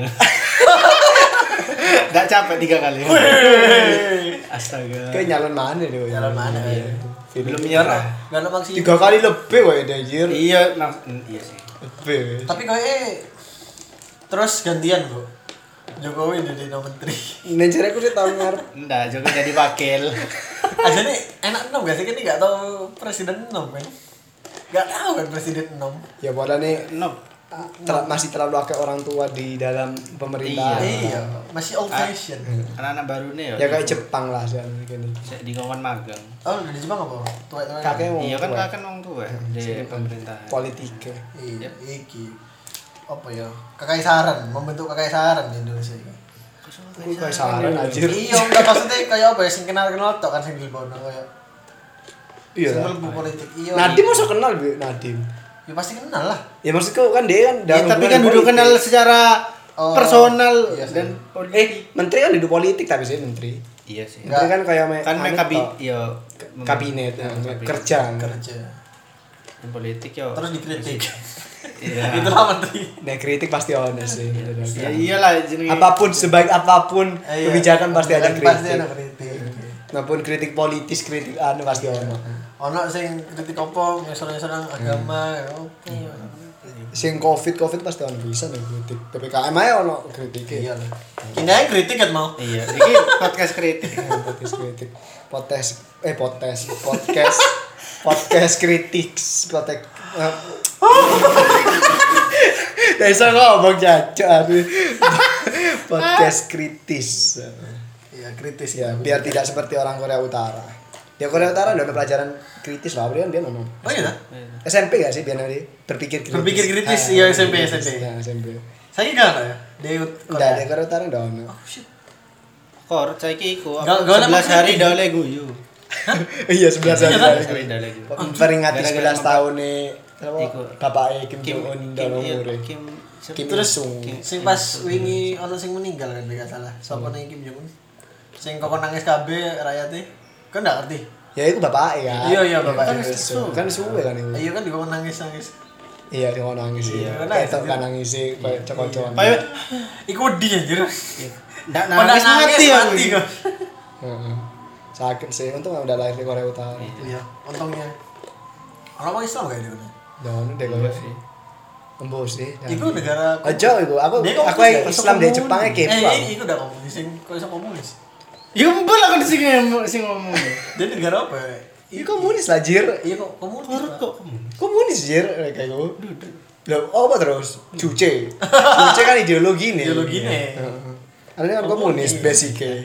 Speaker 2: Enggak capek tiga kali. Astaga.
Speaker 1: Kayak nyalon mana deh?
Speaker 3: Nyalon mana, ya?
Speaker 2: Belum menyerah.
Speaker 3: Enggak ada maksud.
Speaker 1: Tiga kali lebih woy anjir.
Speaker 2: Iya, lang- iya sih.
Speaker 1: Lebih.
Speaker 3: Tapi kayaknya terus gantian, Bro. Jokowi jadi menteri.
Speaker 1: Nenjer aku sih tahun ngarep.
Speaker 2: Enggak, Jokowi jadi wakil.
Speaker 3: Aja nih enak enam gak sih? Kan ini gak tahu presiden enam kan? Gak tahu kan presiden enam.
Speaker 1: Ya padahal nih
Speaker 2: No.
Speaker 1: ah, ter- masih terlalu akeh orang tua di dalam pemerintahan.
Speaker 3: Iya, masih old fashion.
Speaker 2: Anak-anak baru nih
Speaker 1: Ya kayak Jepang lah sih gini.
Speaker 2: di kawan magang.
Speaker 3: Oh, udah di Jepang apa? Tua-tua.
Speaker 1: Kakek mau
Speaker 2: Iya kan
Speaker 1: tua.
Speaker 2: kan orang tua di pemerintahan.
Speaker 1: Politik.
Speaker 3: Iya, iki. Apa ya? Kekaisaran, membentuk kekaisaran di Indonesia ini.
Speaker 1: Aku kayak saran anjir.
Speaker 3: Iya, enggak maksudnya kayak apa ya sing kenal-kenal tok kan sing dibono kayak.
Speaker 1: Iya.
Speaker 3: Sing
Speaker 1: lah.
Speaker 3: mlebu politik. Iya.
Speaker 1: Nadim masa kenal Bu Nadim.
Speaker 3: Ya pasti kenal lah.
Speaker 1: Ya maksudku kan dia kan
Speaker 2: Ya,
Speaker 1: dalam
Speaker 2: tapi
Speaker 1: hubungan
Speaker 2: kan duduk
Speaker 1: politik.
Speaker 2: kenal secara
Speaker 3: Oh,
Speaker 2: personal
Speaker 3: iya sih.
Speaker 2: dan
Speaker 1: Eh, menteri kan duduk politik tapi sih menteri.
Speaker 2: iya sih.
Speaker 3: Enggak.
Speaker 1: Menteri kan kayak me-
Speaker 2: Kan
Speaker 1: anu
Speaker 2: mereka bi
Speaker 1: tok.
Speaker 2: yo
Speaker 1: kabinet, ya,
Speaker 2: kabinet.
Speaker 1: kerja.
Speaker 3: Kerja.
Speaker 2: Dan politik yo.
Speaker 3: Terus dikritik.
Speaker 2: Iya.
Speaker 3: Itulah menteri.
Speaker 1: Nah, kritik pasti honest sih.
Speaker 2: Ya iyalah jenenge.
Speaker 1: Apapun sebaik apapun
Speaker 3: Eh, iya.
Speaker 1: kebijakan pasti ada
Speaker 3: Kebijakan Pasti
Speaker 1: kritik.
Speaker 3: ada kritik.
Speaker 1: Maupun kritik politis, kritik anu pasti ono.
Speaker 3: Ono sing kritik apa, ngesor-ngesor agama, ya opo.
Speaker 1: Sing covid covid pasti ono bisa nih kritik. P P K M aja ono kritik.
Speaker 3: Iya lah. Kini aja kritik kan mau.
Speaker 2: Iya, iki podcast kritik.
Speaker 1: Podcast kritik. Podcast eh podcast podcast podcast kritik podcast. Desa ngomong jajan. Podcast kritis.
Speaker 3: Iya, kritis
Speaker 1: Ya, biar tidak seperti orang Korea Utara. Di Korea Utara ada pelajaran kritis lah, dia dia nono.
Speaker 3: Oh iya.
Speaker 1: S M P gak sih biar nanti berpikir kritis.
Speaker 3: Berpikir kritis,
Speaker 1: Ah,
Speaker 3: iya, S M P,
Speaker 1: kritis.
Speaker 3: S M P.
Speaker 1: Ya, S M P.
Speaker 3: Saya enggak ada ya. Di
Speaker 1: Enggak, di Korea Utara enggak ono.
Speaker 3: Oh shit.
Speaker 2: Kor saiki iku
Speaker 3: Gak- gak ada
Speaker 2: sebelas hari
Speaker 3: maksudnya.
Speaker 2: dah oleh guyu.
Speaker 1: Iya, sebelas hari.
Speaker 3: Iya, kan?
Speaker 1: lagi.
Speaker 2: Hari dah oleh guyu.
Speaker 1: Peringati
Speaker 2: Gara-gara
Speaker 1: sebelas
Speaker 2: bapak-
Speaker 1: tahun nih apa?
Speaker 2: Iku.
Speaker 1: Bapaknya Kim
Speaker 2: Kim
Speaker 1: Jong Un
Speaker 2: Kim
Speaker 1: dalam
Speaker 2: iya,
Speaker 1: umure.
Speaker 2: Kim
Speaker 1: Kim
Speaker 3: Terus
Speaker 1: Il-sung.
Speaker 3: sing pas wingi ono sing meninggal kan gak salah. Sopo ning Kim Jong Un? Sing kok nangis kabeh rakyate. Kan ndak ngerti.
Speaker 1: Ya itu bapaknya kan.
Speaker 3: Iya, iya, bapaknya.
Speaker 1: Kan suwe kan suwe kan itu.
Speaker 3: Iya kan juga nangis-nangis.
Speaker 1: Iya, dia mau nangis sih.
Speaker 3: Iya,
Speaker 1: Ketok
Speaker 3: nangis.
Speaker 1: kan nangis sih kayak cokot-cokotan.
Speaker 2: Payo
Speaker 3: Iku wedi anjir.
Speaker 2: ndak
Speaker 3: Pada
Speaker 2: nangis mati ya.
Speaker 3: mati kok.
Speaker 1: Heeh. Sakit sih, untung udah lahir di Korea Utara.
Speaker 3: Iya, untungnya. Orang Islam kayak gitu.
Speaker 1: Dono deh kalau sih. Embo sih.
Speaker 3: Iku negara
Speaker 1: Aja iku, aku
Speaker 3: Dia
Speaker 1: aku
Speaker 3: komunis,
Speaker 1: yang
Speaker 3: ya?
Speaker 1: Islam deh Jepangnya
Speaker 3: Eh,
Speaker 1: K-pop.
Speaker 3: iya, iku udah komunis sing kok iso komunis.
Speaker 2: Ya mbul aku di sini sing ngomong.
Speaker 3: Dia negara apa? ya?
Speaker 1: Iya komunis lah jir.
Speaker 3: Iya kok komunis.
Speaker 2: Korut
Speaker 3: Pak.
Speaker 2: kok.
Speaker 1: Komunis jir kayak gue. Loh, apa terus? Cuce. Cuce kan ideologi nih.
Speaker 3: Ideologi nih.
Speaker 1: Heeh. Ada kan komunis basicnya.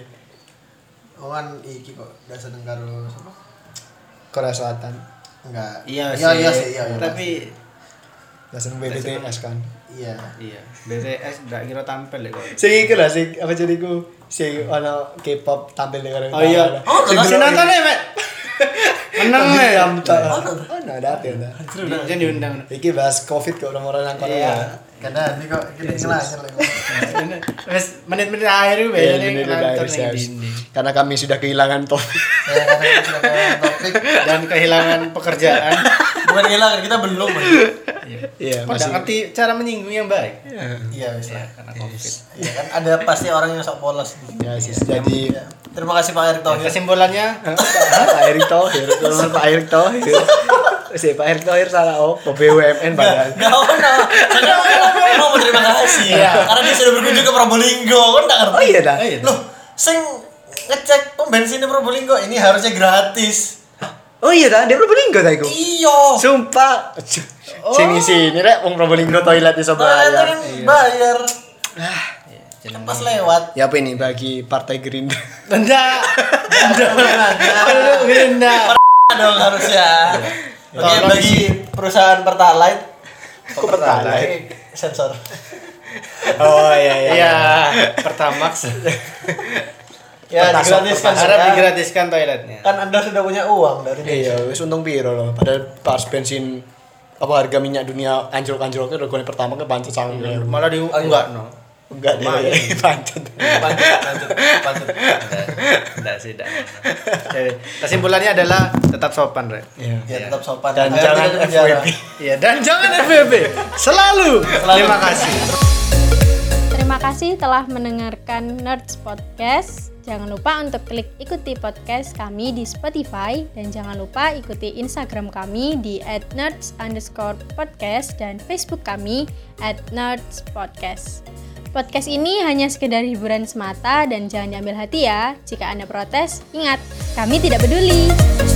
Speaker 3: Oh kan iki kok gak seneng karo sapa?
Speaker 1: Korea Selatan.
Speaker 3: Enggak.
Speaker 2: Iya
Speaker 3: iya
Speaker 2: sih.
Speaker 3: iya sih, iya. iya,
Speaker 2: Tapi
Speaker 1: Gak seneng B B T S kan.
Speaker 3: iya.
Speaker 2: iya, B T S ndak kira tampil ya kok.
Speaker 1: Sing iku lah sing apa jadi ku sing ono K-pop tampil di Korea
Speaker 2: Oh iya.
Speaker 1: Utara.
Speaker 3: Oh,
Speaker 1: Sing
Speaker 3: terus
Speaker 2: Si
Speaker 1: delok
Speaker 2: nonton
Speaker 1: ini.
Speaker 2: ya, Mek. Menang
Speaker 1: Kan
Speaker 2: ya.
Speaker 1: diam tak.
Speaker 3: Oh,
Speaker 1: Oh, nah ada ya dah.
Speaker 2: Jangan diundang.
Speaker 1: Iki bahas Covid ke orang-orang yang Korea.
Speaker 2: Iya.
Speaker 3: Karena nanti kok kita ngelanyar lagi.
Speaker 2: Wes menit-menit akhir itu
Speaker 1: Iya,
Speaker 2: biasanya
Speaker 1: ini udah
Speaker 2: ngantor
Speaker 1: harus,
Speaker 2: ning
Speaker 1: harus.
Speaker 2: dinding.
Speaker 1: Karena kami sudah kehilangan topik.
Speaker 3: Ya karena kita sudah kayak topik.
Speaker 2: Dan kehilangan pekerjaan.
Speaker 3: Bukan hilang, kita belum. Mas.
Speaker 1: Iya,
Speaker 2: Kok nggak ngerti cara menyinggung yang baik?
Speaker 3: Iya, wis
Speaker 2: Ya,
Speaker 3: lah.
Speaker 2: karena Covid.
Speaker 3: Iya kan ada pasti orang yang sok polos.
Speaker 1: Ya, sis. Jadi
Speaker 3: Iya. Terima kasih Pak Erick Thohir.
Speaker 2: Kesimpulannya
Speaker 1: Pak Erick Thohir, kalau Pak Erick Thohir. Si Pak Erick Thohir salah oh, B U M N padahal.
Speaker 3: Gak ono. Saya mau berterima kasih ya. Karena dia sudah berkunjung ke Probolinggo. Kan enggak ngerti.
Speaker 1: Oh iya dah.
Speaker 3: Loh, sing ngecek pom bensin di Probolinggo ini harusnya gratis.
Speaker 1: Oh iya dah, dia Probolinggo dah iku.
Speaker 3: Iya.
Speaker 1: Sumpah. Sini sini rek wong Probolinggo toilet iso
Speaker 3: Bayar.
Speaker 1: bayar.
Speaker 3: Bayar.
Speaker 2: Iya,
Speaker 3: Pas lewat.
Speaker 1: Ya apa ini bagi Partai Gerindra?
Speaker 2: Benda.
Speaker 3: Benda.
Speaker 2: Benda.
Speaker 3: Dong harusnya. Oke,
Speaker 2: Tolong
Speaker 3: bagi perusahaan Pertalite.
Speaker 1: Kok Pertalite?
Speaker 3: Sensor.
Speaker 1: Oh iya iya.
Speaker 2: Iya, Pertamax.
Speaker 3: Ya,
Speaker 1: Pertasok,
Speaker 3: digratiskan.
Speaker 2: Harap
Speaker 3: sudah.
Speaker 2: digratiskan toiletnya.
Speaker 3: Kan Anda sudah punya uang dari
Speaker 1: Iya, wis untung piro loh. Padahal pas bensin apa harga minyak dunia anjlok-anjloknya regane pertama ke pancet sangat.
Speaker 2: Malah di enggak no.
Speaker 1: Enggak dia
Speaker 2: Lumayan.
Speaker 1: pancet.
Speaker 3: Lanjut, lanjut, lanjut.
Speaker 2: Enggak sih, enggak. Oke, kesimpulannya adalah tetap sopan, Rek.
Speaker 1: Iya.
Speaker 3: Ya tetap sopan.
Speaker 1: Dan
Speaker 3: Agar
Speaker 1: jangan
Speaker 3: tidak
Speaker 1: F W
Speaker 3: dipenjara.
Speaker 1: B.
Speaker 2: Iya, dan jangan F W B. Selalu. Terima kasih.
Speaker 4: Terima kasih telah mendengarkan Nerds Podcast. Jangan lupa untuk klik ikuti podcast kami di Spotify dan jangan lupa ikuti Instagram kami di at nerds underscore podcast dan Facebook kami at nerds podcast. Podcast ini hanya sekedar hiburan semata dan jangan diambil hati ya. Jika Anda protes, ingat, kami tidak peduli.